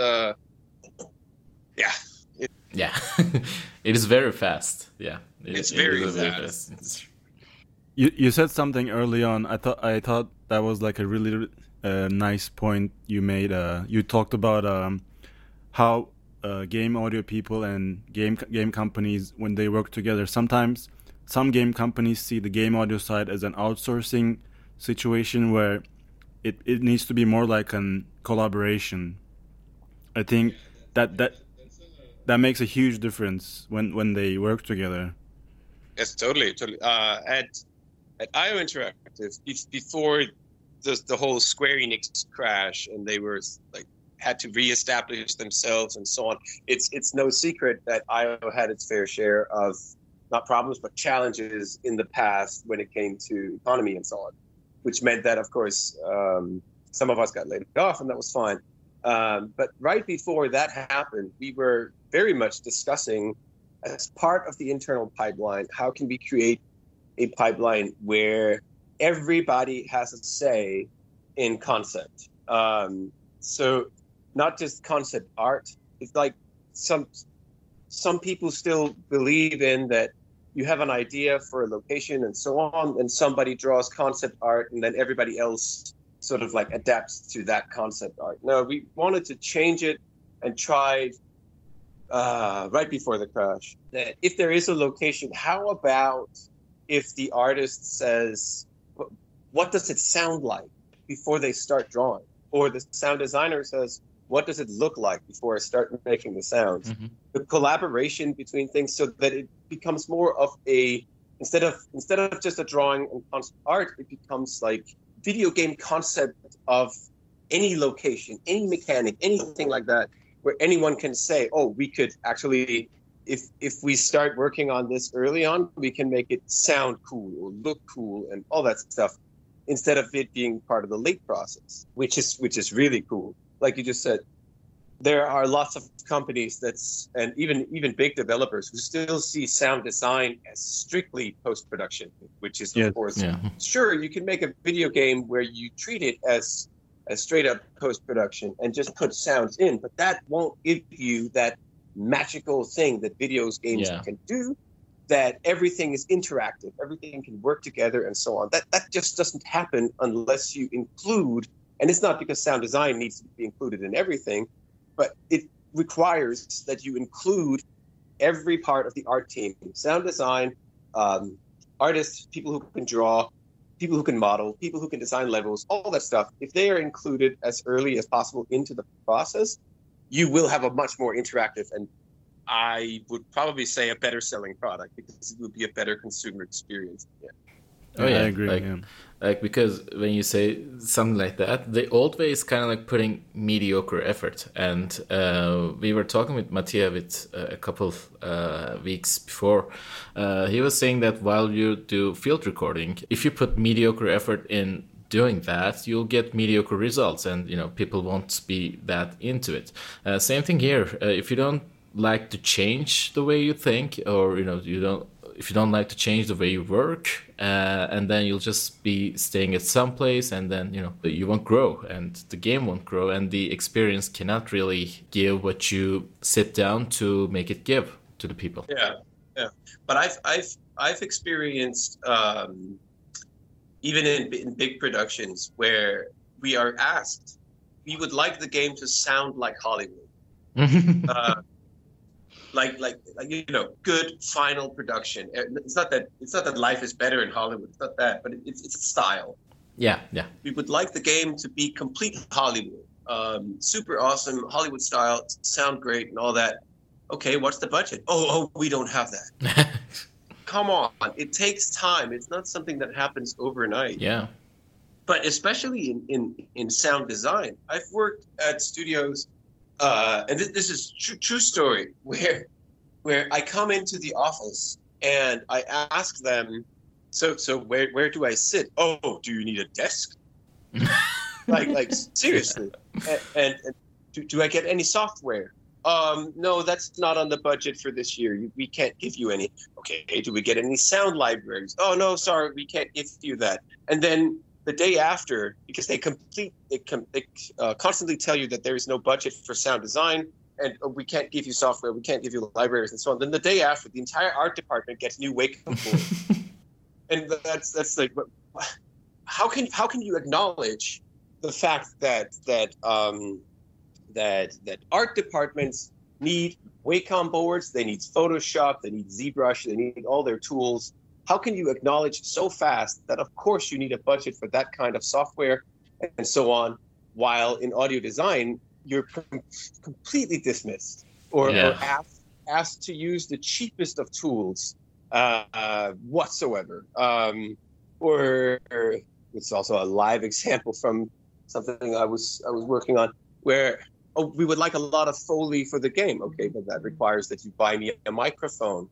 it is very fast. Yeah, it's very fast. You said something early on. I thought that was like a really nice point you made. You talked about how game audio people and game companies, when they work together, sometimes some game companies see the game audio side as an outsourcing situation where it needs to be more like a collaboration. I think that makes a huge difference when they work together. Yes, totally. At IO Interactive, before the whole Square Enix crash, and they were had to reestablish themselves and so on. It's no secret that IO had its fair share of not problems but challenges in the past when it came to economy and so on, which meant that, of course, some of us got laid off, and that was fine. But right before that happened, we were very much discussing, as part of the internal pipeline, how can we create a pipeline where everybody has a say in concept. So not just concept art. It's like some people still believe in that you have an idea for a location and so on, and somebody draws concept art, and then everybody else sort of like adapts to that concept art. No, we wanted to change it and tried right before the crash that if there is a location, how about if the artist says, what does it sound like before they start drawing? Or the sound designer says, what does it look like before I start making the sounds? Mm-hmm. The collaboration between things so that it becomes more of a, instead of just a drawing and concept art, it becomes like video game concept of any location, any mechanic, anything like that, where anyone can say, oh, we could actually, if we start working on this early on, we can make it sound cool or look cool and all that stuff, instead of it being part of the late process, which is really cool. Like you just said, there are lots of companies and even big developers who still see sound design as strictly post-production, which is, of course, sure, you can make a video game where you treat it as straight up post-production and just put sounds in, but that won't give you that magical thing that games can do, that everything is interactive, everything can work together and so on. That just doesn't happen unless you include, and it's not because sound design needs to be included in everything, but it requires that you include every part of the art team, sound design, artists, people who can draw, people who can model, people who can design levels, all that stuff. If they are included as early as possible into the process, you will have a much more interactive and I would probably say a better selling product, because it would be a better consumer experience. Yeah. Oh yeah, I agree. Like because when you say something like that, the old way is kind of like putting mediocre effort. And we were talking with Mattia a couple weeks before. He was saying that while you do field recording, if you put mediocre effort in doing that, you'll get mediocre results, and people won't be that into it. Same thing here. If you don't like to change the way you think, or if you don't like to change the way you work, and then you'll just be staying at some place, and then you won't grow, and the game won't grow, and the experience cannot really give what you sit down to make it give to the people. Yeah. But I've experienced even in big productions where we are asked, we would like the game to sound like Hollywood. Like good final production. It's not that life is better in Hollywood. It's not that, but it's style. Yeah. We would like the game to be complete Hollywood, super awesome Hollywood style, sound great and all that. Okay, what's the budget? Oh, we don't have that. Come on, it takes time. It's not something that happens overnight. Yeah. But especially in sound design, I've worked at studios. And this is true story, where I come into the office and I ask them, so where do I sit? Oh, do you need a desk? like seriously? And do I get any software? No, that's not on the budget for this year. We can't give you any. Okay, do we get any sound libraries? Oh no, sorry, we can't give you that. And then the day after, because they constantly tell you that there is no budget for sound design, and we can't give you software, we can't give you libraries, and so on. Then the day after, the entire art department gets new wake-up calls, and that's like, how can you acknowledge the fact that art departments need Wacom boards, they need Photoshop, they need ZBrush, they need all their tools. How can you acknowledge so fast that, of course, you need a budget for that kind of software and so on, while in audio design, you're completely dismissed or asked to use the cheapest of tools whatsoever? Or it's also a live example from something I was working on where we would like a lot of Foley for the game. Okay, but that requires that you buy me a microphone.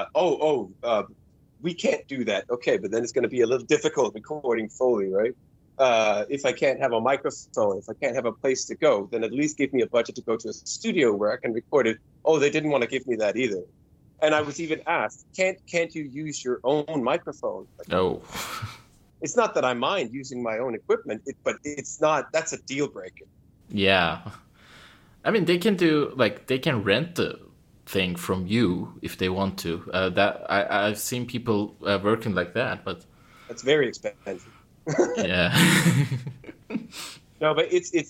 We can't do that. Okay, but then it's going to be a little difficult recording Foley, right? if I can't have a microphone, if I can't have a place to go, then at least give me a budget to go to a studio where I can record it. Oh, they didn't want to give me that either. And I was even asked, can't you use your own microphone? Like, Oh. it's not that I mind using my own equipment, but it's not. That's a deal breaker. Yeah. I mean, they can rent the thing from you if they want to. I've seen people working like that, but That's very expensive. yeah. No, but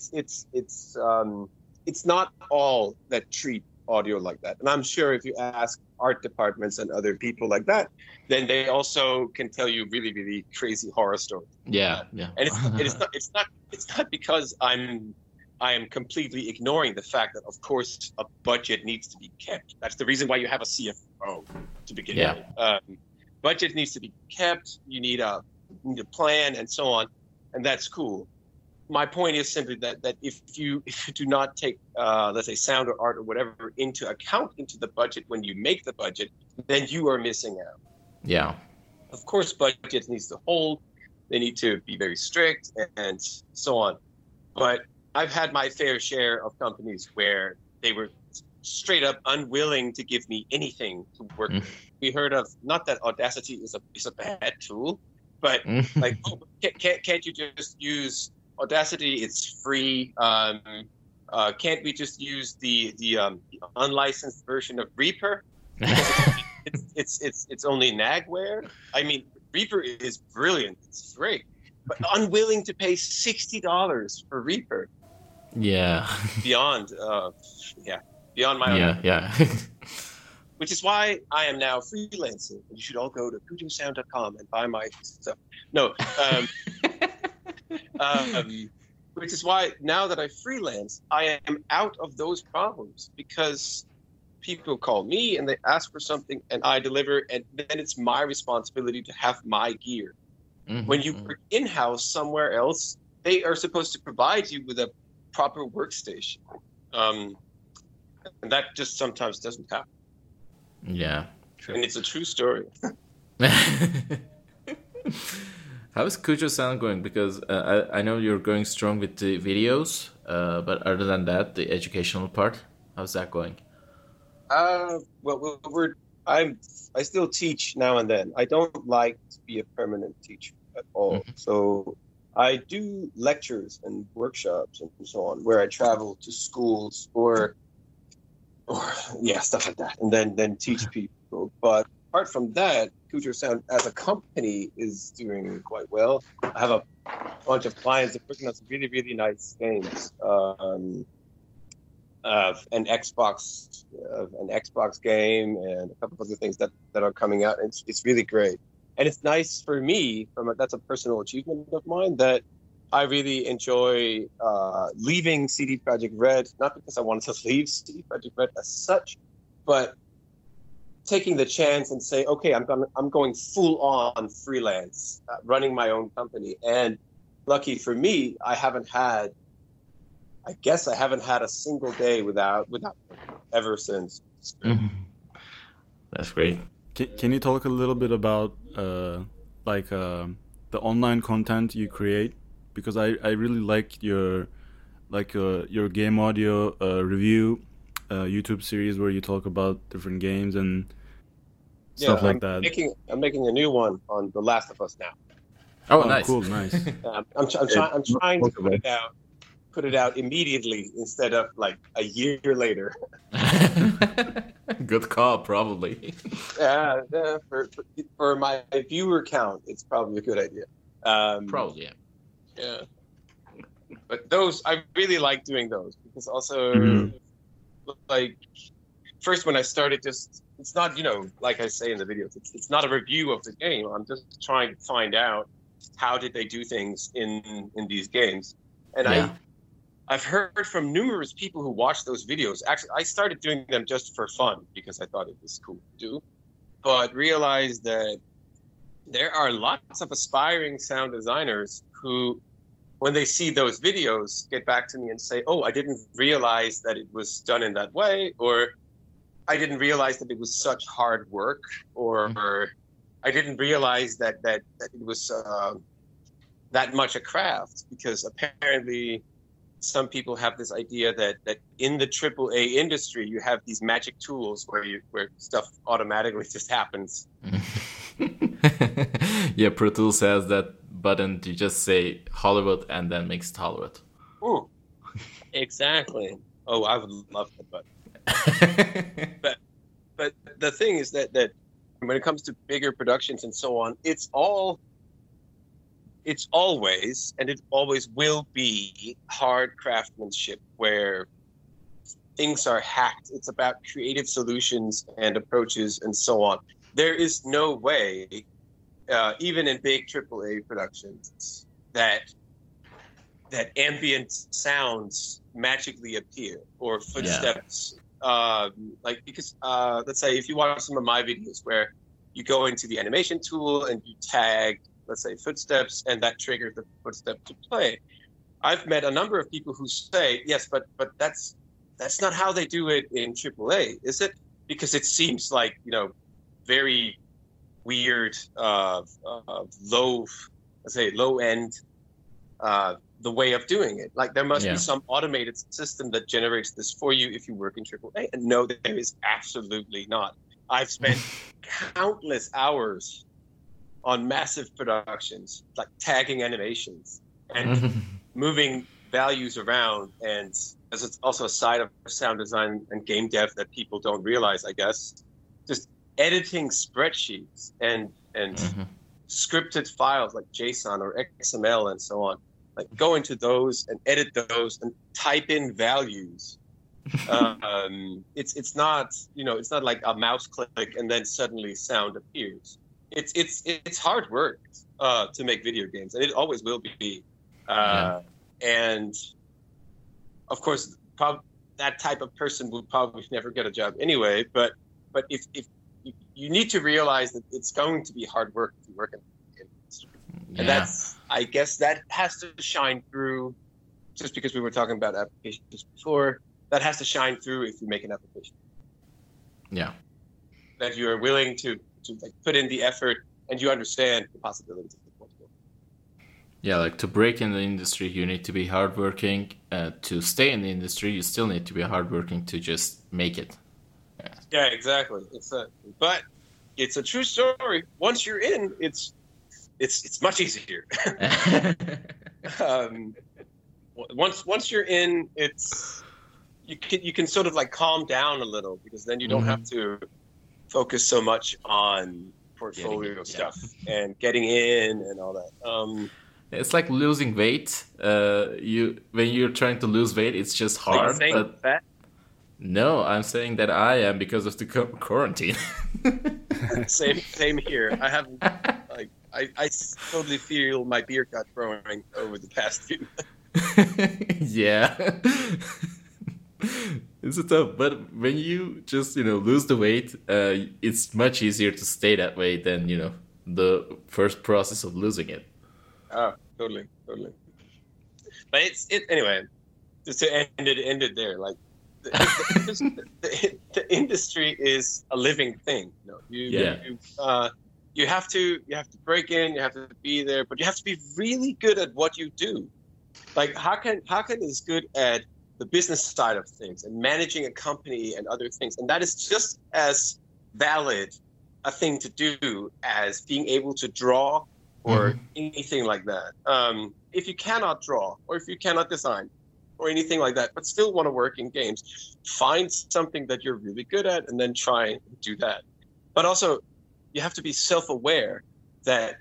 it's not all that treat audio like that. And I'm sure if you ask art departments and other people like that, then they also can tell you really, really crazy horror stories. Yeah. And it's not because I am completely ignoring the fact that, of course, a budget needs to be kept. That's the reason why you have a CFO to begin with. Budget needs to be kept. You need a plan and so on, and that's cool. My point is simply that if you do not take, let's say, sound or art or whatever into account into the budget when you make the budget, then you are missing out. Yeah. Of course, budgets needs to hold. They need to be very strict and so on. But I've had my fair share of companies where they were straight up unwilling to give me anything to work with. We heard of, not that Audacity is a bad tool, but like, oh, can't you just use Audacity? It's free. Can't we just use the unlicensed version of Reaper? It's only Nagware. I mean, Reaper is brilliant. It's great, but unwilling to pay $60 for Reaper. Yeah. Beyond my own. Yeah. Which is why I am now freelancing. You should all go to kujosound.com and buy my stuff. No. Which is why now that I freelance, I am out of those problems because people call me and they ask for something and I deliver, and then it's my responsibility to have my gear. When you work in-house somewhere else, they are supposed to provide you with a proper workstation. And that just sometimes doesn't happen. Yeah. True. And it's a true story. How is Kujo Sound going? Because I know you're going strong with the videos, but other than that, the educational part, how's that going? Well, I still teach now and then. I don't like to be a permanent teacher at all. So I do lectures and workshops and so on, where I travel to schools or stuff like that, and then teach people. But apart from that, Kujo Sound as a company is doing quite well. I have a bunch of clients that are working on some really, really nice games. An Xbox game and a couple of other things that are coming out. It's really great. And it's nice for me, that's a personal achievement of mine, that I really enjoy leaving CD Projekt Red, not because I wanted to leave CD Projekt Red as such, but taking the chance and say, okay, I'm going full on freelance, running my own company. And lucky for me, I haven't had a single day without ever since. That's great. Can you talk a little bit about the online content you create? Because I really like your game audio review YouTube series where you talk about different games and stuff like that. I'm making a new one on The Last of Us now. Oh, nice. Cool, nice. I'm trying to put it out immediately instead of like a year later. Good call, probably. For my viewer count, it's probably a good idea. Probably, yeah. Yeah. But those, I really like doing those because also, like, first when I started, it's not, like I say in the videos, it's not a review of the game. I'm just trying to find out how did they do things in these games. And I've heard from numerous people who watched those videos. Actually, I started doing them just for fun because I thought it was cool to do, but realized that there are lots of aspiring sound designers who, when they see those videos, get back to me and say, oh, I didn't realize that it was done in that way, or I didn't realize that it was such hard work, or I didn't realize that it was that much a craft, because apparently some people have this idea that in the AAA industry you have these magic tools where stuff automatically just happens. Yeah, Pro Tools has that button to just say Hollywood and then makes it Hollywood. Ooh, exactly. Oh, I would love that button. But the thing is that when it comes to bigger productions and so on, it's always, and it always will be, hard craftsmanship where things are hacked. It's about creative solutions and approaches and so on. There is no way, even in big AAA productions, that ambient sounds magically appear, or footsteps. Because let's say if you watch some of my videos where you go into the animation tool and you tag, let's say, footsteps, and that triggers the footstep to play. I've met a number of people who say, yes, but that's not how they do it in AAA, is it? Because it seems like, very weird, low end, the way of doing it. Like there must be some automated system that generates this for you if you work in AAA. And no, there is absolutely not. I've spent countless hours on massive productions, like tagging animations and moving values around. And as it's also a side of sound design and game dev that people don't realize, I guess, just editing spreadsheets and scripted files like JSON or XML and so on. Like go into those and edit those and type in values. It's not, it's not like a mouse click and then suddenly sound appears. It's hard work to make video games, and it always will be. And of course, that type of person would probably never get a job anyway. But if you need to realize that it's going to be hard work if you work in the industry, and I guess that has to shine through. Just because we were talking about applications before, that has to shine through if you make an application. Yeah, that you are willing to like put in the effort and you understand the possibilities of what's going on. Yeah, like to break in the industry, you need to be hardworking. To stay in the industry, you still need to be hardworking to just make it. Yeah, exactly. But it's a true story. Once you're in, it's much easier. Once you're in, you can sort of like calm down a little, because then you don't have to focus so much on portfolio stuff and getting in and all that. It's like losing weight. When you're trying to lose weight, it's just hard. But fat? No, I'm saying that I am because of the quarantine. Same here. I haven't I totally feel my beard got growing over the past few. Yeah. It's tough, but when you just lose the weight, it's much easier to stay that way than the first process of losing it. Oh, totally. But it's anyway. Just to end it there, like the industry is a living thing. You have to break in, you have to be there, but you have to be really good at what you do. Like Hakan is good at the business side of things and managing a company and other things, and that is just as valid a thing to do as being able to draw or anything like that. If you cannot draw or if you cannot design or anything like that, but still want to work in games, find something that you're really good at and then try and do that. But also, you have to be self-aware that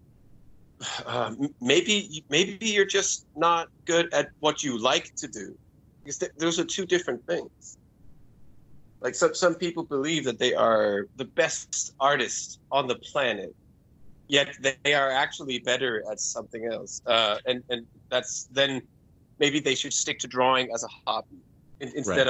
maybe you're just not good at what you like to do. Because those are two different things. Like some people believe that they are the best artists on the planet, yet they are actually better at something else. And that's then maybe they should stick to drawing as a hobby instead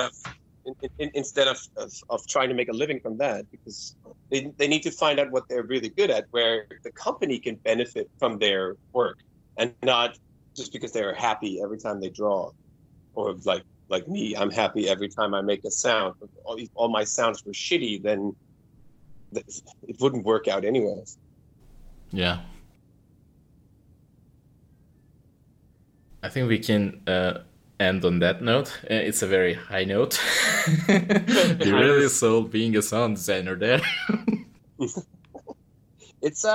of trying to make a living from that, because they need to find out what they're really good at, where the company can benefit from their work, and not just because they are happy every time they draw. Or like me, I'm happy every time I make a sound. If all my sounds were shitty, then it wouldn't work out anyways. Yeah. I think we can end on that note. It's a very high note. You really sold being a sound designer there. It's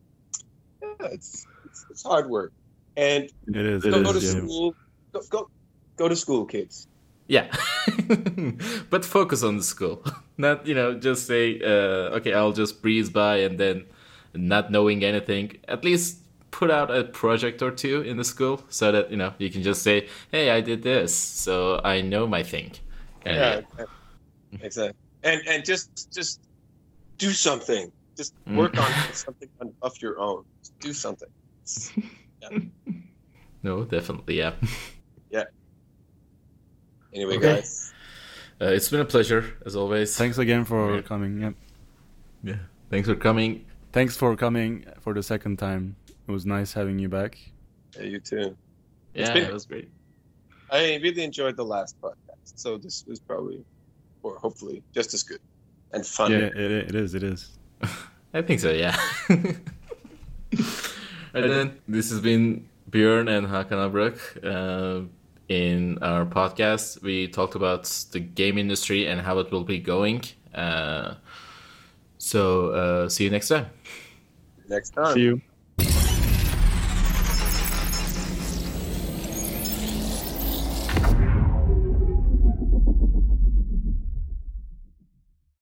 it's hard work, and It is. go to school. Go to school, kids. Yeah. But focus on the school. Not, just say, okay, I'll just breeze by and then not knowing anything. At least put out a project or two in the school so that, you can just say, hey, I did this, so I know my thing. Yeah, exactly. And just do something. Just work on something of your own. Just do something. Yeah. No, definitely, yeah. Yeah. Anyway, Okay. guys. It's been a pleasure, as always. Thanks again for coming. Yep. Yeah. Thanks for coming. Thanks for coming for the second time. It was nice having you back. Yeah, you too. Yeah, been- it was great. I really enjoyed the last podcast, so this was probably, or hopefully, just as good and fun. Yeah, it is. It is. I think so, yeah. And then this has been Björn and Hakan Abrek. In our podcast, we talked about the game industry and how it will be going. So see you next time. Next time. See you.